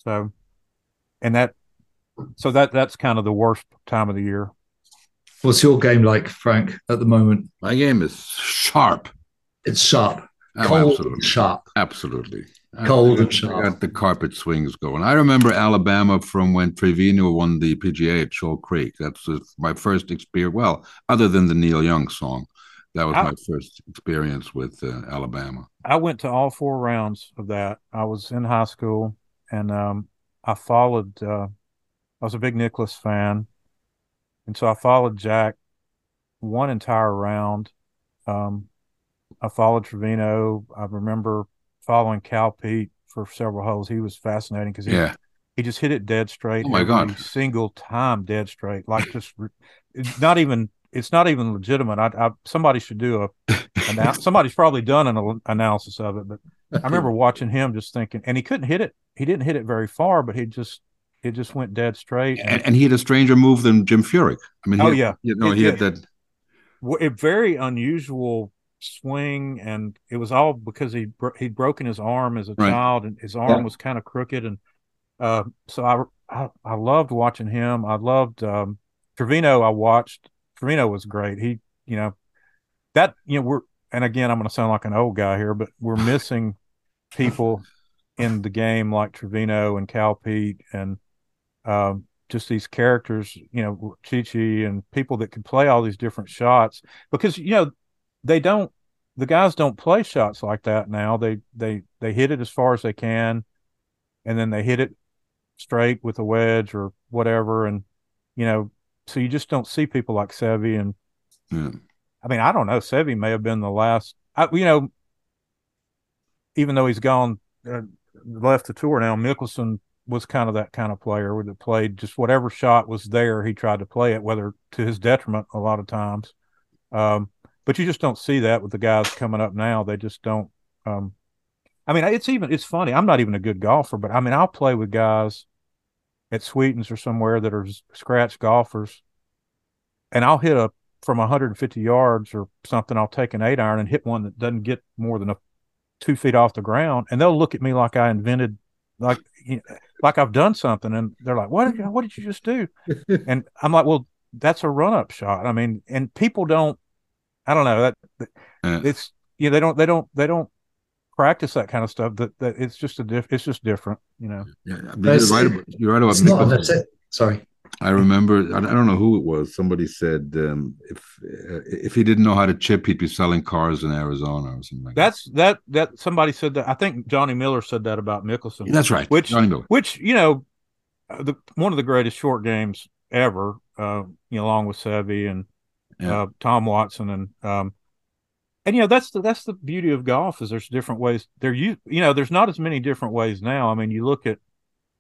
that's kind of the worst time of the year. What's your game like, Frank, at the moment? My game is sharp. It's sharp. Cold, absolutely. And sharp. Absolutely. Cold and sharp. I got the carpet swings going. I remember Alabama from when Trevino won the PGA at Shoal Creek. That's my first experience. Well, other than the Neil Young song, that was my first experience with Alabama. I went to all 4 rounds of that. I was in high school, and I followed. I was a big Nicklaus fan, and so I followed Jack one entire round. I followed Trevino. I remember following Cal Peete for several holes. He was fascinating because he just hit it dead straight. Oh my God! Single time dead straight, like just it's not even legitimate. Somebody should do somebody's probably done an analysis of it, but I remember watching him just thinking, and he couldn't hit it. He didn't hit it very far, but it just went dead straight. And he had a stranger move than Jim Furyk. I mean, he had that. A very unusual swing, and it was all because he'd broken his arm as a child, and his arm was kind of crooked, and so I loved watching him. I loved Trevino. Trevino was great. He and again, I'm going to sound like an old guy here, but we're missing people in the game like Trevino and Cal Peete and just these characters, Chi-Chi and people that could play all these different shots, because the guys don't play shots like that now. They hit it as far as they can, and then they hit it straight with a wedge or whatever, and so you just don't see people like Seve. And I mean, I don't know, Seve may have been the last, even though he's gone, left the tour now, Mickelson was kind of that kind of player that played just whatever shot was there, he tried to play it, whether to his detriment a lot of times. But you just don't see that with the guys coming up now. They just don't. I mean, it's funny. I'm not even a good golfer, but I mean, I'll play with guys at Sweetens or somewhere that are scratch golfers, and I'll hit from 150 yards or something. I'll take an 8-iron and hit one that doesn't get more than 2 feet off the ground, and they'll look at me like I invented, like I've done something, and they're like, "What did you just do?" And I'm like, "Well, that's a run-up shot." I mean, and people don't. I don't know that it's they don't practice that kind of stuff. That it's just it's just different, Yeah, you're right about Nicklaus. Sorry. I remember, I don't know who it was. Somebody said if he didn't know how to chip, he'd be selling cars in Arizona or something like that. That somebody said that. I think Johnny Miller said that about Mickelson. That's right. Johnny Miller. Which one of the greatest short games ever. Along with Seve and Tom Watson and that's the beauty of golf is there's different ways. There's not as many different ways now. I mean, you look at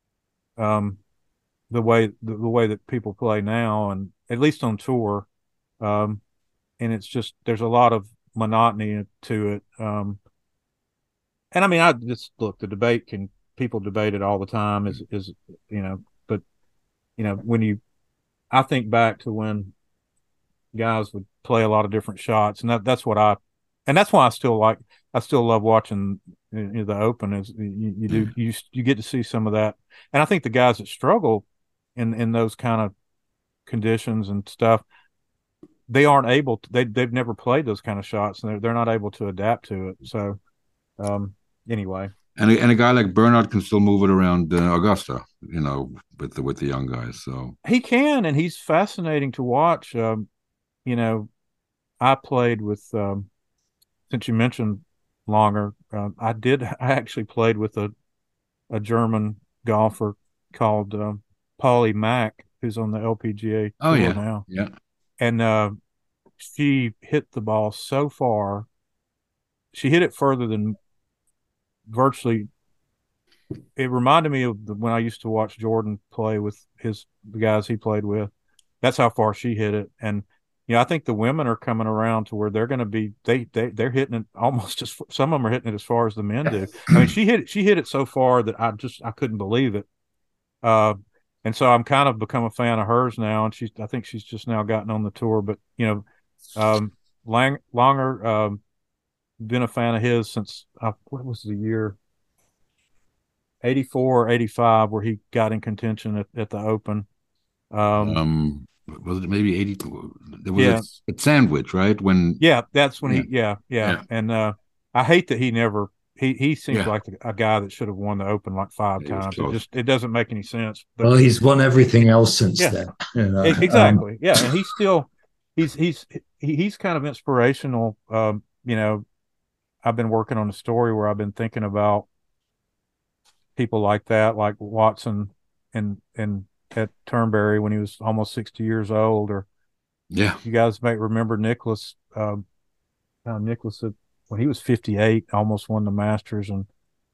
the way that people play now, and at least on tour, and it's just there's a lot of monotony to it. And I mean, I just look, people debate it all the time. But when I think back to when guys would play a lot of different shots, and that's why I still love watching the Open. Is you get to see some of that, and I think the guys that struggle in those kind of conditions and stuff, they aren't able to, they've never played those kind of shots, and they're not able to adapt to it. So anyway, and a guy like Bernhard can still move it around Augusta, with the young guys. So he can, and he's fascinating to watch. I played with since you mentioned Langer. I actually played with a German golfer called Paulie Mack, who's on the LPGA Oh tour yeah, now. yeah. And she hit the ball so far. She hit it further than virtually. It reminded me of when I used to watch Jordan play with the guys he played with. That's how far she hit it. And I think the women are coming around to where they're going to be they're hitting it almost as some of them are hitting it as far as the men do. I mean, she hit it so far that I couldn't believe it. And so I'm kind of become a fan of hers now, and I think she's just now gotten on the tour. But Langer, been a fan of his since what was the year? 84 or 85, where he got in contention at the Open. Was it maybe 80? There was Yeah. a sandwich, right? That's when yeah. And I hate that he never. He seems like a guy that should have won the Open like 5 times. It doesn't make any sense. But, well, he's won everything else since then. Exactly. Yeah, and he's still he's kind of inspirational. I've been working on a story where I've been thinking about people like that, like Watson and at Turnberry when he was almost 60 years old, or you guys may remember Nicklaus. Nicklaus, when he was 58, almost won the Masters, and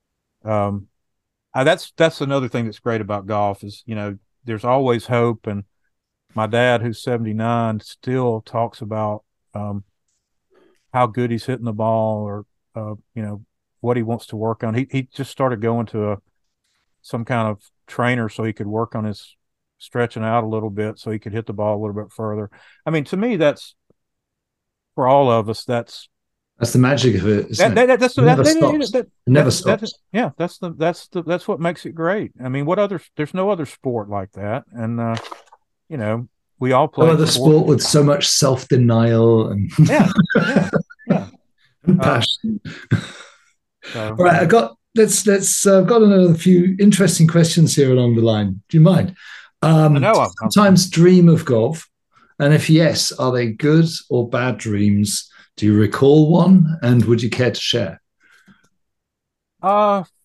that's another thing that's great about golf is there's always hope. And my dad, who's 79, still talks about how good he's hitting the ball, or what he wants to work on. He just started going to some kind of trainer so he could work on his stretching out a little bit so he could hit the ball a little bit further. I mean, to me, that's for all of us. That's the magic of it. It never stops. That's what makes it great. I mean, there's no other sport like that. And, we all play. No other sport with so much self-denial and and passion. All right, I've got another few interesting questions here along the line. Do you mind? Sometimes dream of golf, and if yes, are they good or bad dreams? Do you recall one, and would you care to share? I've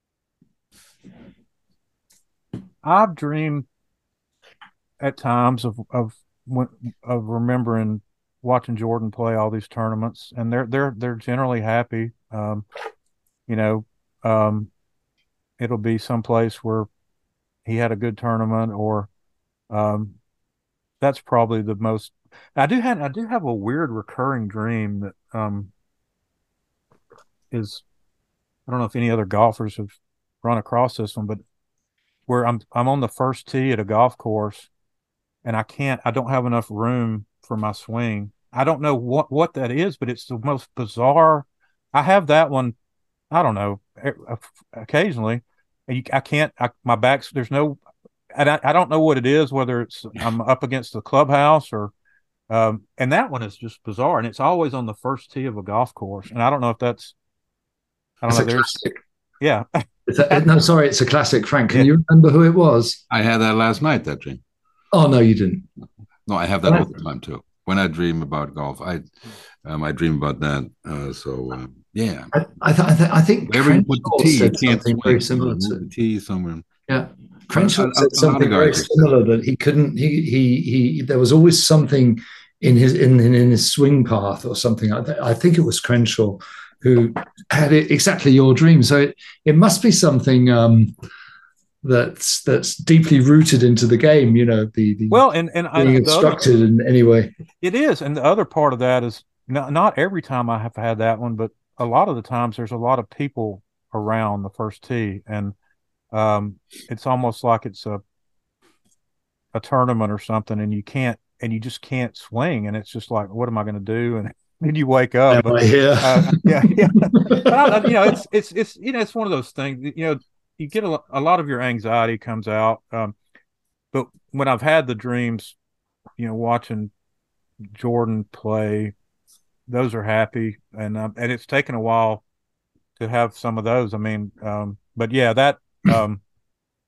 dreamed at times of remembering watching Jordan play all these tournaments, and they're generally happy. It'll be someplace where he had a good tournament, or that's probably the most. I do have a weird recurring dream that is, I don't know if any other golfers have run across this one, but where I'm on the first tee at a golf course, and I don't have enough room for my swing. I don't know what that is, but it's the most bizarre. I have that one, I don't know, occasionally. I can't, my back's, there's no, I don't know what it is, whether it's I'm up against the clubhouse or, and that one is just bizarre. And it's always on the first tee of a golf course. And I don't know if that's, classic. Yeah. It's a classic. Frank, can you remember who it was? I had that last night, that dream. Oh, no, you didn't. No, I have that all the time too. When I dream about golf, I dream about that. Yeah. I think wherever you put the tee, you can't something very similar to the tee somewhere. Yeah. Crenshaw said something very similar, that he couldn't. He there was always something in his swing path or something. I think it was Crenshaw who had exactly your dream. So it must be something that's deeply rooted into the game. And being instructed in any way. It is, and the other part of that is not every time I have had that one, but a lot of the times there's a lot of people around the first tee, and it's almost like it's a tournament or something, and you just can't swing, and it's just like, what am I going to do? And then you wake up. But, yeah. But it's one of those things. You get a lot of your anxiety comes out. But when I've had the dreams, watching Jordan play, those are happy, and it's taken a while to have some of those. I mean, but yeah, that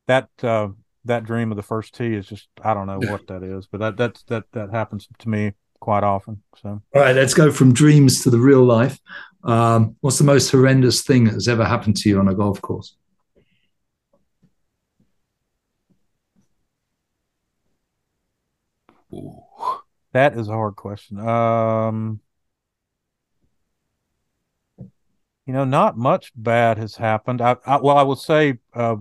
dream of the first tee is just, I don't know what that is, but that happens to me quite often. So, all right, let's go from dreams to the real life. What's the most horrendous thing that has ever happened to you on a golf course? Ooh. that is a hard question. Not much bad has happened. Well, I will say,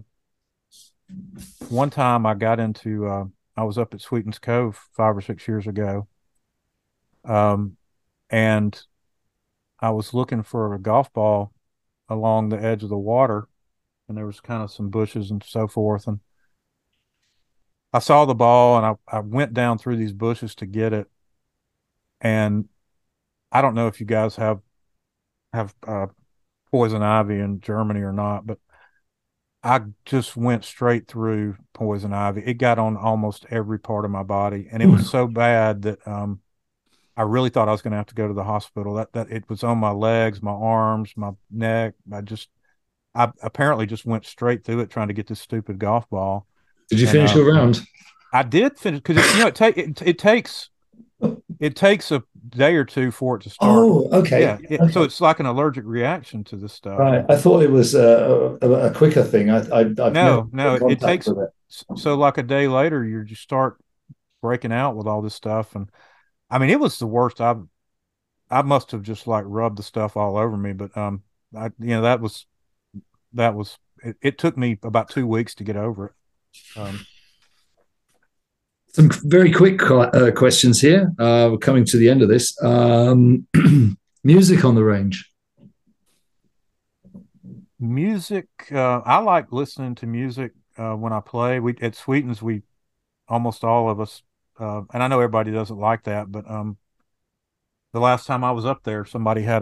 one time I was up at Sweetens Cove 5 or 6 years ago, um, and I was looking for a golf ball along the edge of the water, and there was kind of some bushes and so forth, and I saw the ball, and I went down through these bushes to get it, and I don't know if you guys have poison ivy in Germany or not, but I just went straight through poison ivy. It got on almost every part of my body, and it was so bad that I really thought I was going to have to go to the hospital. That it was on my legs, my arms, my neck. I apparently just went straight through it trying to get this stupid golf ball. Did you And finish your round? I did finish because it takes a day or two for it to start. Oh, okay. Yeah, Okay. so it's like an allergic reaction to this stuff. Right. I thought it was a quicker thing. I've never No, been in it contact takes with it. so like a day later you just start breaking out with all this stuff, and I mean it was the worst. I must have just like rubbed the stuff all over me, but that was it took me about 2 weeks to get over it. Some very quick questions here. We're coming to the end of this. Music on the range. Music, I like listening to music when I play. We at Sweetens, we almost all of us, and I know everybody doesn't like that, but the last time I was up there, somebody had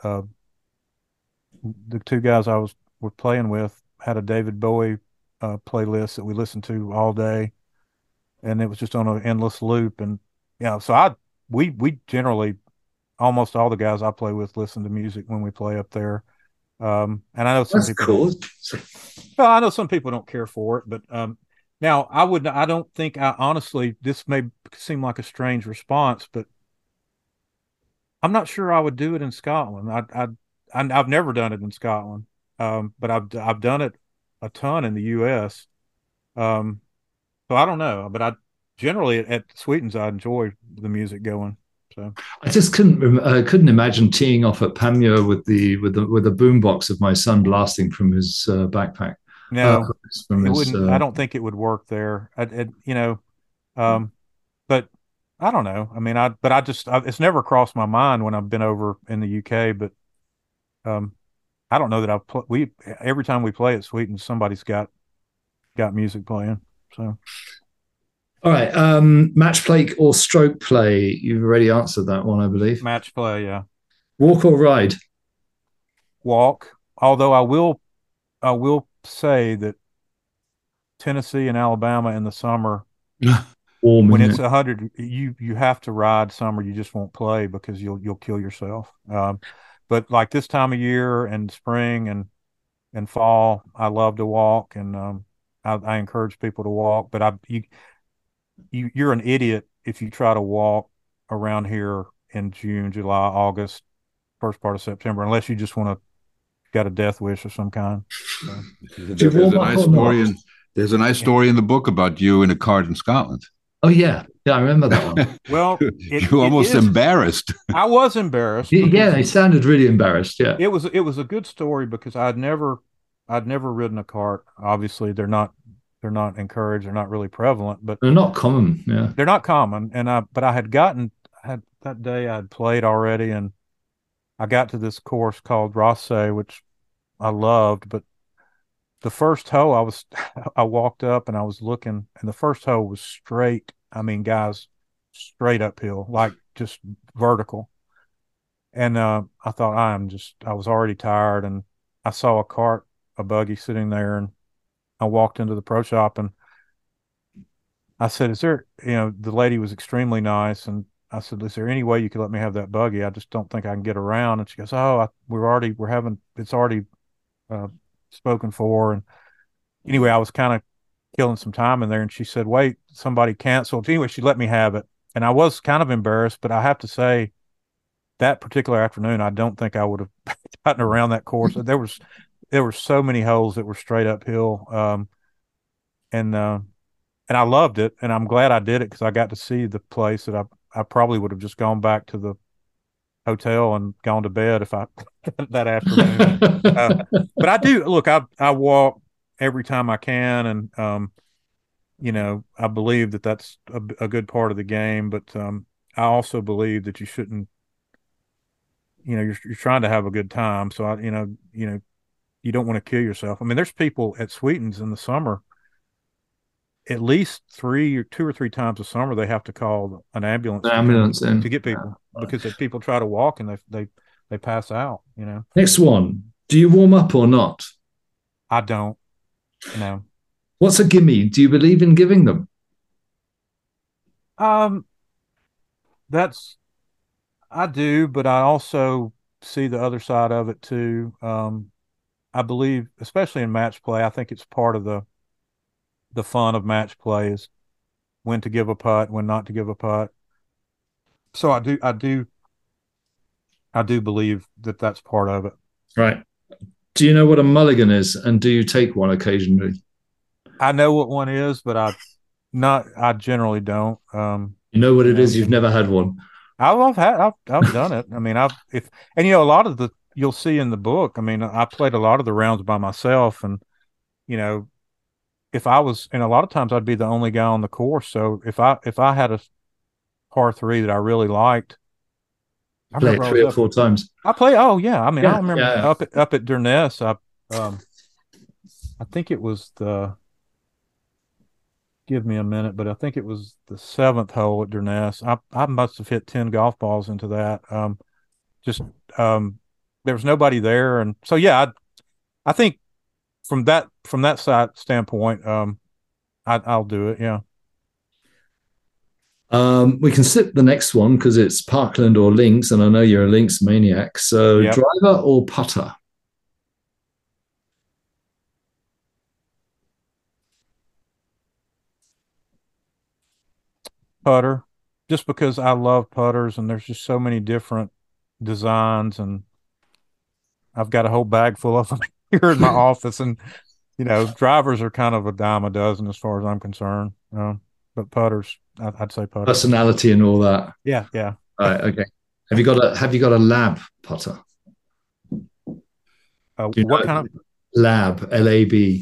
the two guys were playing with had a David Bowie playlist that we listened to all day, and it was just on an endless loop. And so we generally almost all the guys I play with listen to music when we play up there. And I know some That's people cool. well, I know some people don't care for it, but now I don't think I honestly, this may seem like a strange response, but I'm not sure I would do it in Scotland. I've never done it in Scotland, but I've done it a ton in the U.S. So I don't know, but I generally at Sweetens I enjoy the music going. So I just couldn't imagine teeing off at Panmure with the boombox of my son blasting from his backpack. no, From it his, wouldn't. I don't think it would work there. Um, but I don't know. I mean, it's never crossed my mind when I've been over in the UK, but um, I don't know that we every time we play at Sweeten, somebody's got music playing. So all right, match play or stroke play? You've already answered that one, I believe. match play, yeah. Walk or ride? Walk. Although I will say that Tennessee and Alabama in the summer, Warm, when isn't it's it? 100, you have to ride summer. You just won't play because you'll kill yourself. But like this time of year and spring and fall, I love to walk, and I encourage people to walk. But you're an idiot if you try to walk around here in June, July, August, first part of September, unless you just want to got a death wish of some kind. So, Do you There's warm a up nice or not? story in there's a nice story in the book about you in a cart in Scotland. Oh yeah, I remember that one. well, You're it almost is. embarrassed. I was embarrassed Yeah, because they sounded really embarrassed. Yeah, it was a good story because I'd never ridden a cart. Obviously, they're not encouraged. They're not really prevalent, but they're not common. Yeah. they're not common. But I had that day I had played already, and I got to this course called Rosse, which I loved. But the first hole, I walked up and I was looking, and the first hole was straight. I mean, guys, straight uphill, like just vertical. And I thought I was already tired, and I saw a buggy sitting there, and I walked into the pro shop and I said, "Is there?" The lady was extremely nice, and I said, "Is there any way you could let me have that buggy? I just don't think I can get around." And she goes, "Oh, it's already uh, spoken for." And anyway, I was kind of killing some time in there, and she said, "Wait, somebody canceled." Anyway, she let me have it, and I was kind of embarrassed, but I have to say that particular afternoon, I don't think I would have gotten around that course. There were so many holes that were straight uphill, and I loved it, and I'm glad I did it because I got to see the place that I probably would have just gone back to the hotel and gone to bed if I that afternoon. But I do look. I walk every time I can, and I believe that that's a good part of the game. But I also believe that you shouldn't. You're trying to have a good time, so you don't want to kill yourself. I mean, there's people at Sweetens in the summer. At least 2 or 3 times a summer, they have to call an ambulance to get people because if people try to walk and they pass out. Next one. Do you warm up or not? I don't. No. What's a gimme? Do you believe in giving them? I do, but I also see the other side of it too. I believe, especially in match play, I think it's part of the fun of match play is when to give a putt, when not to give a putt. So I do believe that that's part of it. Right. Do you know what a mulligan is, and do you take one occasionally? I know what one is, but I generally don't. You know what it is? You've never had one. I've done it. I mean, a lot of you'll see in the book. I mean, I played a lot of the rounds by myself, and if I was, and a lot of times I'd be the only guy on the course. So if I had a par 3 that I really liked, I played 3 or 4 times. I play. Oh yeah, I mean, I remember up at Durness. I think it was give me a minute, but I think it was the 7th hole at Durness. I must have hit 10 golf balls into that. There was nobody there, and so yeah, I think from that side standpoint, I'll do it. Yeah. We can skip the next one because it's Parkland or links, and I know you're a links maniac. So driver or putter? Putter, just because I love putters, and there's just so many different designs, and I've got a whole bag full of them here in my office, and drivers are kind of a dime a dozen as far as I'm concerned. But putters, I'd say putter. Personality and all that. Yeah. All right. Okay. Have you got a lab putter? What kind of lab? LAB.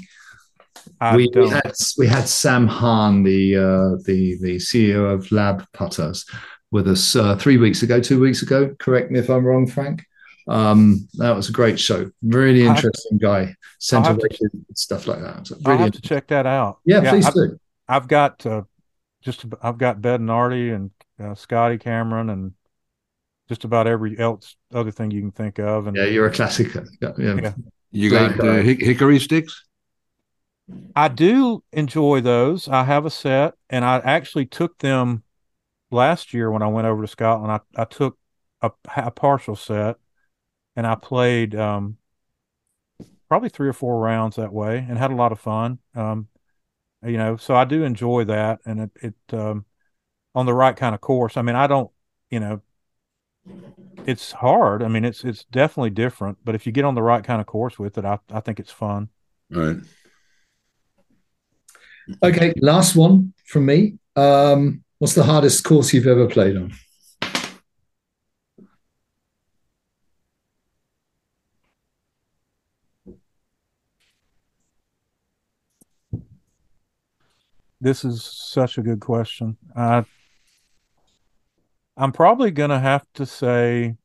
We had Sam Hahn, the CEO of Lab Putters, with us 2 weeks ago. Correct me if I'm wrong, Frank. That was a great show. Really interesting guy. Center stuff like that. So I'll have to check that out. Yeah, please do. I've got Bednardi and Scotty Cameron and just about every other thing you can think of. And you're a classic. Yeah. You got hickory sticks? I do enjoy those. I have a set, and I actually took them last year when I went over to Scotland. I took a partial set, and I played probably 3 or 4 rounds that way, and had a lot of fun. So I do enjoy that, and it on the right kind of course. I mean, I don't, it's hard. I mean, it's definitely different, but if you get on the right kind of course with it, I think it's fun. All right. Okay, last one from me. What's the hardest course you've ever played on? This is such a good question. I'm probably going to have to say,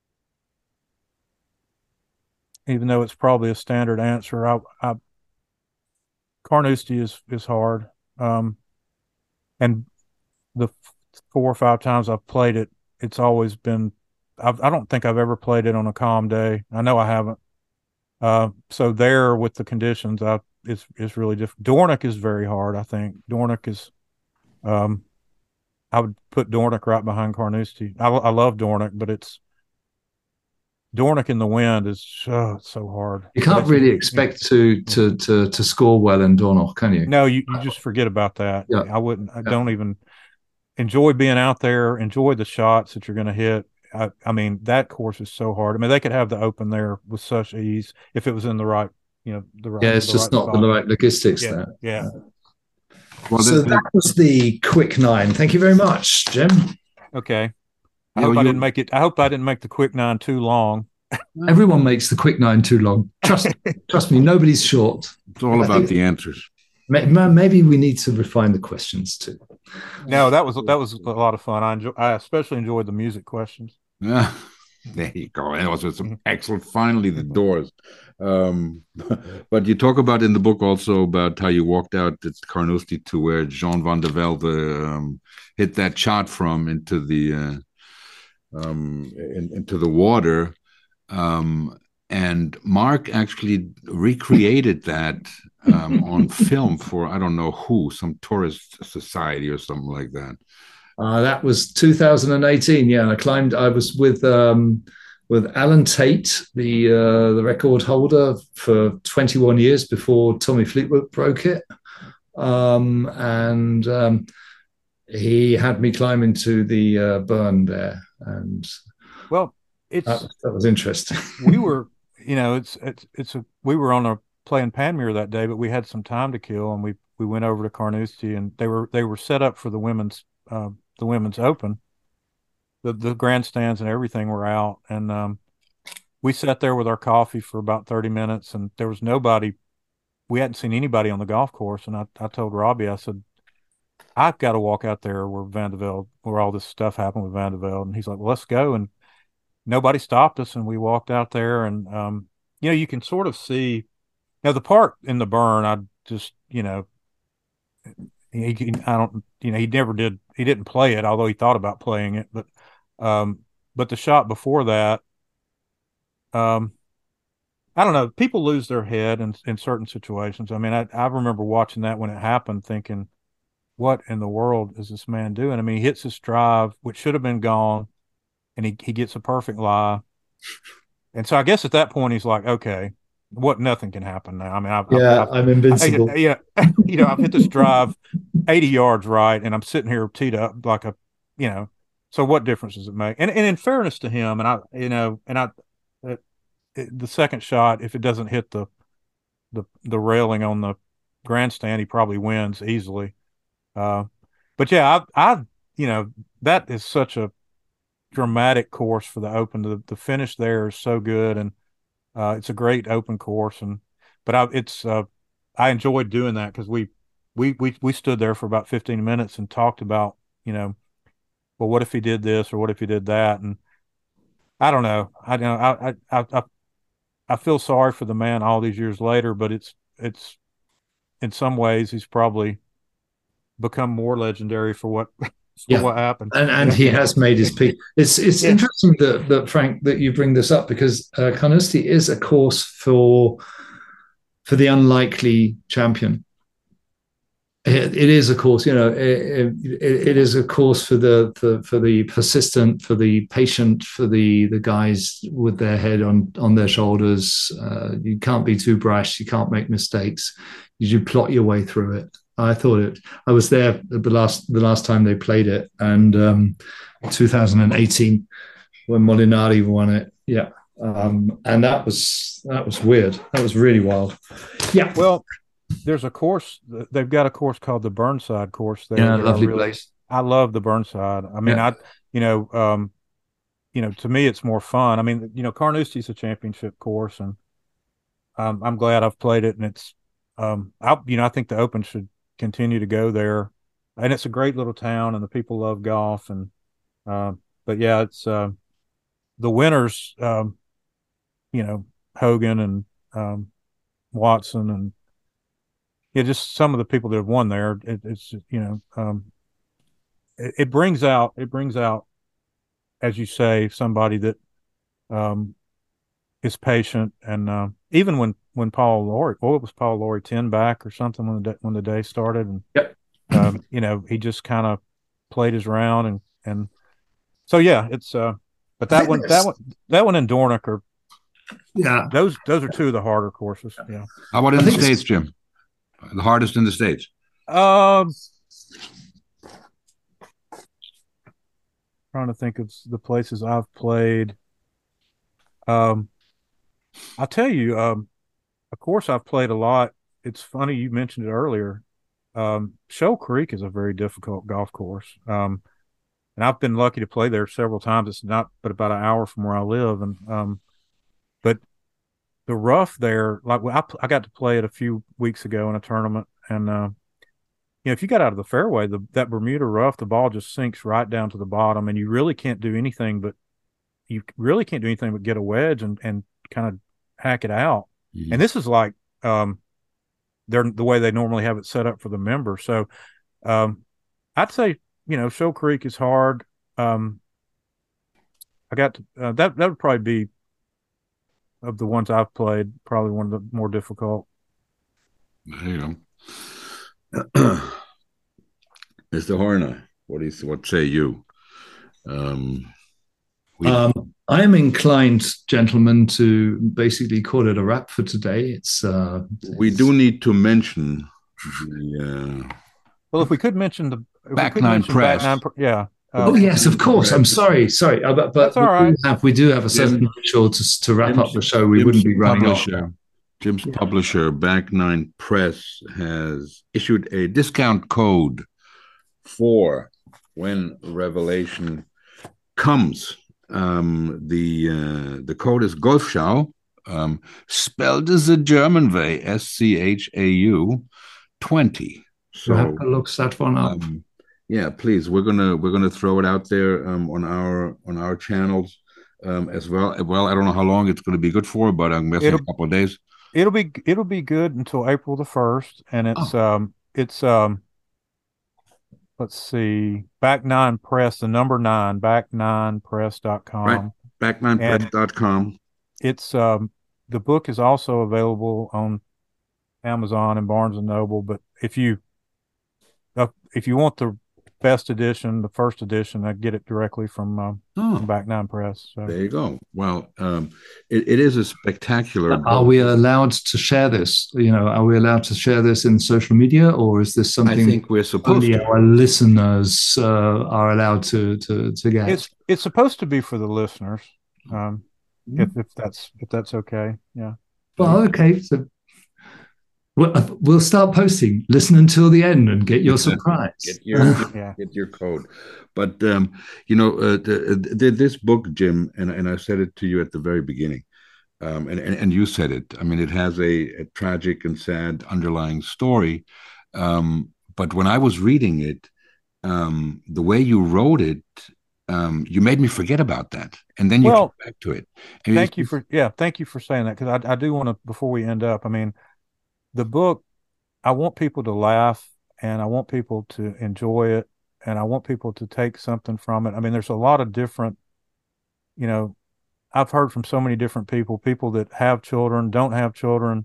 even though it's probably a standard answer, Carnoustie is hard. And the 4 or 5 times I've played it, it's always been, I don't think I've ever played it on a calm day. I know I haven't. So there with the conditions, it's really different. Dornoch is very hard, I think. Dornoch is, I would put Dornoch right behind Carnoustie. I love Dornoch, but Dornoch in the wind is so hard. You can't really expect to score well in Dornoch, can you? No, you just forget about that. Yeah. I wouldn't. I don't even. enjoy being out there, enjoy the shots that you're going to hit. I mean, that course is so hard. I mean, they could have the Open there with such ease if it was in the right, it's the just right not spot. the right logistics Yeah, there. yeah. Well, so that was the quick 9. Thank you very much, Jim. Okay. I hope I didn't make it. I hope I didn't make the quick 9 too long. Everyone makes the quick 9 too long. Trust me, nobody's short. It's all about the answers. Maybe we need to refine the questions too. No, that was a lot of fun. I especially enjoyed the music questions. Yeah, there you go. And also some excellent. Finally, the Doors. But you talk about in the book also about how you walked out at Carnoustie to where Jean van der Velde hit that shot from into the water. And Mark actually recreated that on film for, I don't know who, some tourist society or something like that. That was 2018. Yeah, I was with Alan Tate, the record holder for 21 years before Tommy Fleetwood broke it. He had me climb into the burn there. And well, that was interesting. We were, we were on a playing Panmure that day, but we had some time to kill, and we went over to Carnoustie, and they were set up for the women's Open. The grandstands and everything were out, and we sat there with our coffee for about 30 minutes, and there was nobody. We hadn't seen anybody on the golf course, and I told Robbie, I said, I've got to walk out there where all this stuff happened with Van de Velde, and he's like, well, let's go, and nobody stopped us, and we walked out there, and you can sort of see the part in the burn. I just he didn't play it, although he thought about playing it, but the shot before that, I don't know, people lose their head in certain situations. I mean, I remember watching that when it happened, thinking, what in the world is this man doing? I mean, he hits his drive, which should have been gone, and he gets a perfect lie. And so I guess at that point he's like, okay, nothing can happen now. I mean, I'm invincible. I've hit this drive 80 yards right, and I'm sitting here teed up like so what difference does it make? And in fairness to him, the second shot, if it doesn't hit the railing on the grandstand, he probably wins easily. But yeah, that is such a dramatic course for the Open. The finish there is so good, and it's a great Open course. I enjoyed doing that because we stood there for about 15 minutes and talked about, well, what if he did this or what if he did that? And I don't know. I feel sorry for the man all these years later, but it's in some ways he's probably become more legendary for what happened. And he has made his peak. It's interesting that Frank, that you bring this up, because Carnoustie is a course for the unlikely champion. It is a course, it is a course for the persistent, for the patient, for the guys with their head on their shoulders. You can't be too brash. You can't make mistakes. You plot your way through it. I was there the last time they played it, and 2018 when Molinari won it. Yeah. And that was weird. That was really wild. Yeah. Well, there's a course. They've got a course called the Burnside course there. Yeah, lovely place. I love the Burnside. I mean, to me, it's more fun. I mean, Carnoustie's a championship course, and I'm glad I've played it. And it's, I think the Open should continue to go there, and it's a great little town, and the people love golf. And but yeah, it's the winners. Hogan and Watson and just some of the people that have won there. It brings out, as you say, somebody that is patient. And even when Paul Lawrie, what was Paul Lawrie, 10 back or something when the day started, and yep. He just kind of played his round, and so yeah, it's but that one in Dornoch are. Yeah, those are two of the harder courses. Yeah. How about in the States, Jim? The hardest in the States? trying to think of the places I've played. Um, I'll tell you, of course, I've played a lot. It's funny you mentioned it earlier. Shoal Creek is a very difficult golf course. And I've been lucky to play there several times. It's not but about an hour from where I live. And but the rough there, like I got to play it a few weeks ago in a tournament, and if you got out of the fairway, that Bermuda rough, the ball just sinks right down to the bottom, and you really can't do anything but get a wedge and kind of hack it out. Mhm. And this is like they're the way they normally have it set up for the member. So I'd say Shoal Creek is hard. I got to, that would probably be, of the ones I've played, probably one of the more difficult. There you go. Mr. Horner, what say you? I am inclined, gentlemen, to basically call it a wrap for today. We do need to mention the Well, if we could mention the Back Nine Press. Yeah. Oh yes, of course. I'm sorry, but That's all right. we do have a certain ritual to wrap up the show. We wouldn't be running off. Jim's publisher, Back Nine Press, has issued a discount code for when Revelation comes. The code is Golfschau, spelled as a German way, SCHAU 20. So have to look that one up. Yeah, please. We're gonna throw it out there on our channels as well. Well, I don't know how long it's going to be good for, but I'm guessing a couple of days. It'll be good until April the 1st, and it's let's see, Back Nine Press, the number 9, back9press.com. Right, back9press.com. It's the book is also available on Amazon and Barnes and Noble. But if you want the best edition, the first edition, I get it directly from Back Nine Press. So. There you go. Well, it is a spectacular book. Are we allowed to share this? Are we allowed to share this in social media, or is this something I think we're supposed only to? Our listeners are allowed to get? It's supposed to be for the listeners, if that's okay. Yeah. Well, okay. So we'll start posting. Listen until the end and get your surprise. Get your code. But this book, Jim, and I said it to you at the very beginning, and you said it. I mean, it has a tragic and sad underlying story. But when I was reading it, the way you wrote it, you made me forget about that, and then you came back to it. Thank you for saying that, because I do want to, before we end up, I mean, the book, I want people to laugh, and I want people to enjoy it, and I want people to take something from it. I mean, there's a lot of different, I've heard from so many different people that have children, don't have children.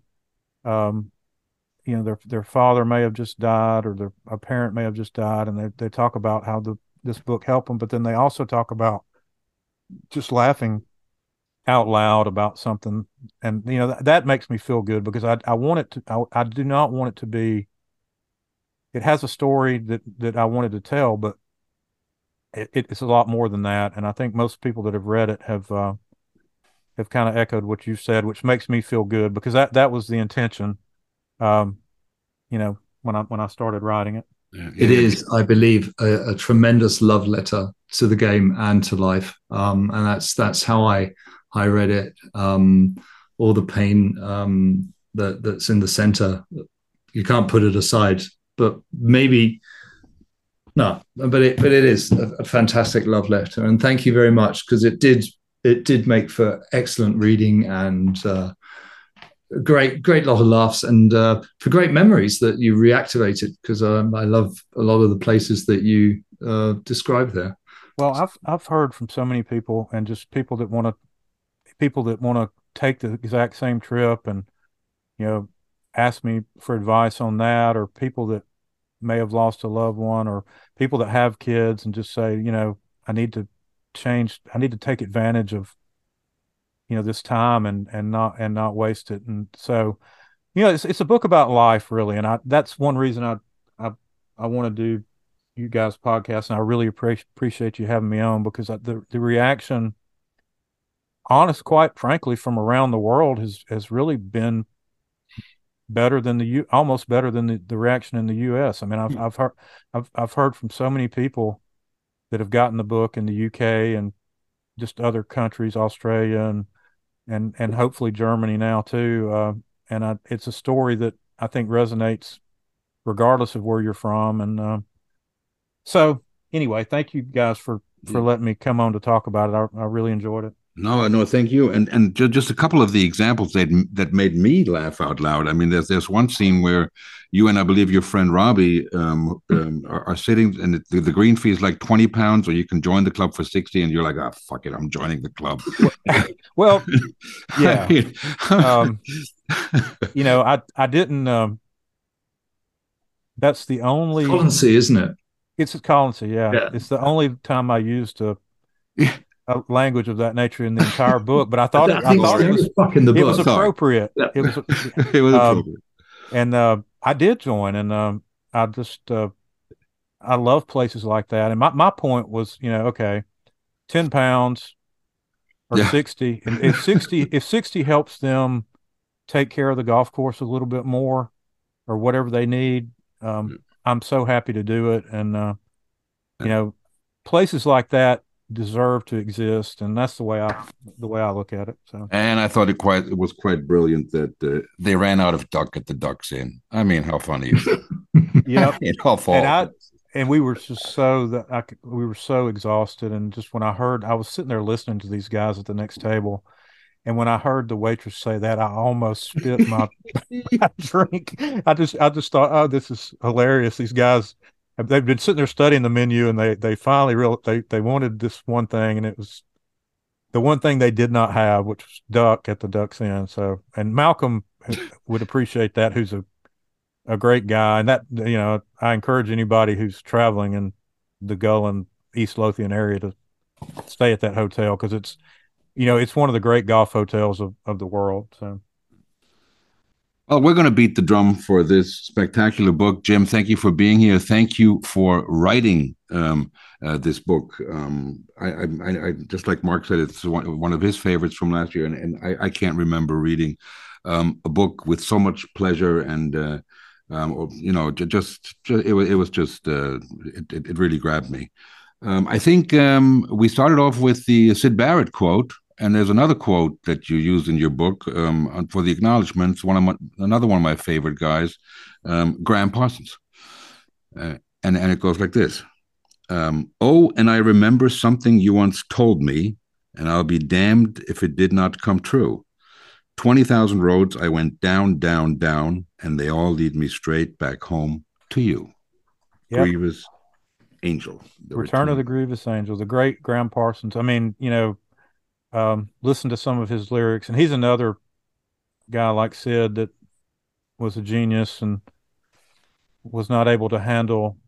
Their father may have just died, or a parent may have just died, and they talk about how this book helped them, but then they also talk about just laughing out loud about something, and that makes me feel good, because I want it to. I do not want it to be. It has a story that I wanted to tell, but it's a lot more than that. And I think most people that have read it have kind of echoed what you said, which makes me feel good, because that was the intention. When I started writing it. It is, I believe, a tremendous love letter to the game and to life, and that's how I read it. All the pain that's in the center, you can't put it aside. But maybe no, but it is a fantastic love letter, and thank you very much, because it did make for excellent reading, and great lot of laughs, and for great memories that you reactivated, because I love a lot of the places that you described there. Well, I've heard from so many people, and just people that want to take the exact same trip, and ask me for advice on that, or people that may have lost a loved one, or people that have kids and just say, I need to take advantage of this time and not waste it. And so it's a book about life, really, and that's one reason I want to do you guys' podcast, and I really appreciate you having me on, because the reaction, quite frankly, from around the world has really been better than almost better than the reaction in the U.S. I mean, I've heard from so many people that have gotten the book in the UK and just other countries, Australia and hopefully Germany now too. And it's a story that I think resonates regardless of where you're from. And so anyway, thank you guys for letting me come on to talk about it. I really enjoyed it. No, thank you. And just a couple of the examples that made me laugh out loud. I mean, there's one scene where you and I believe your friend Robbie are sitting, and the green fee is like 20 pounds, or you can join the club for 60, and you're like, ah, oh, fuck it, I'm joining the club. Well, yeah. You know, I didn't. That's the only Colonsey, isn't it? It's a Colonsey, yeah. It's the only time I used a language of that nature in the entire book, but I thought it was appropriate. Yeah. It was appropriate. And I did join, and I just I love places like that. And my point was, you know, okay, 10 pounds or 60, and if 60 helps them take care of the golf course a little bit more or whatever they need, I'm so happy to do it. And you know, places like that deserve to exist, and that's the way I look at it. So, and I thought it was quite brilliant that they ran out of duck at the Ducks Inn. I mean, how funny is that? Yeah, and we were just we were so exhausted, and just when I was sitting there listening to these guys at the next table, and when I heard the waitress say that, I almost spit my drink. I just thought, oh, this is hilarious. These guys, they've been sitting there studying the menu, and they finally they wanted this one thing, and it was the one thing they did not have, which was duck at the Ducks Inn. So, and Malcolm would appreciate that, who's a great guy. And that, you know, I encourage anybody who's traveling in the Gull and East Lothian area to stay at that hotel, because it's, you know, it's one of the great golf hotels of the world. So, well, we're going to beat the drum for this spectacular book. Jim, thank you for being here. Thank you for writing this book. I just like Mark said, it's one of his favorites from last year, and I can't remember reading a book with so much pleasure and you know, it really grabbed me. I think we started off with the Syd Barrett quote. And there's another quote that you used in your book for the acknowledgments. Another one of my favorite guys, Graham Parsons, and it goes like this: "Oh, and I remember something you once told me, and I'll be damned if it did not come true. 20,000 roads I went down, down, down, and they all lead me straight back home to you." Yep. Grievous Angel. Return of the Grievous Angel, the great Graham Parsons. I mean, you know. Listen to some of his lyrics, and he's another guy like Syd that was a genius and was not able to handle.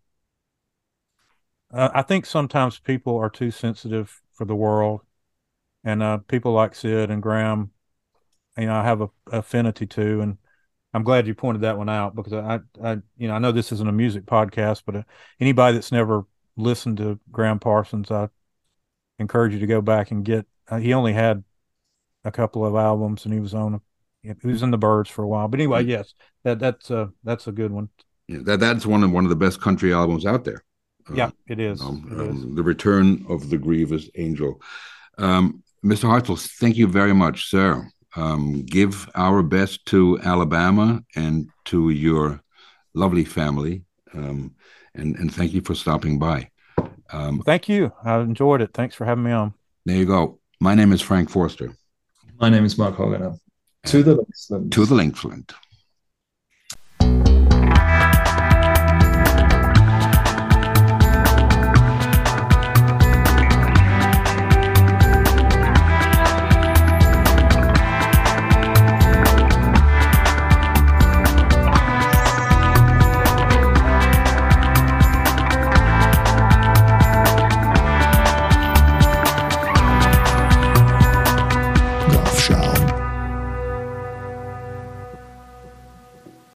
I think sometimes people are too sensitive for the world, and people like Syd and Graham, you know, I have a affinity to, and I'm glad you pointed that one out, because I you know, I know this isn't a music podcast, but anybody that's never listened to Graham Parsons, I encourage you to go back and get. He only had a couple of albums, and he was in the Byrds for a while. But anyway, yes, that's a good one. Yeah, that's one of the best country albums out there. Yeah, it is. The Return of the Grievous Angel. Mr. Hartzell, thank you very much, sir. Give our best to Alabama and to your lovely family, and thank you for stopping by. Thank you. I enjoyed it. Thanks for having me on. There you go. My name is Frank Forster. My name is Mark Hoganer. To the Linksland. To the Linksland.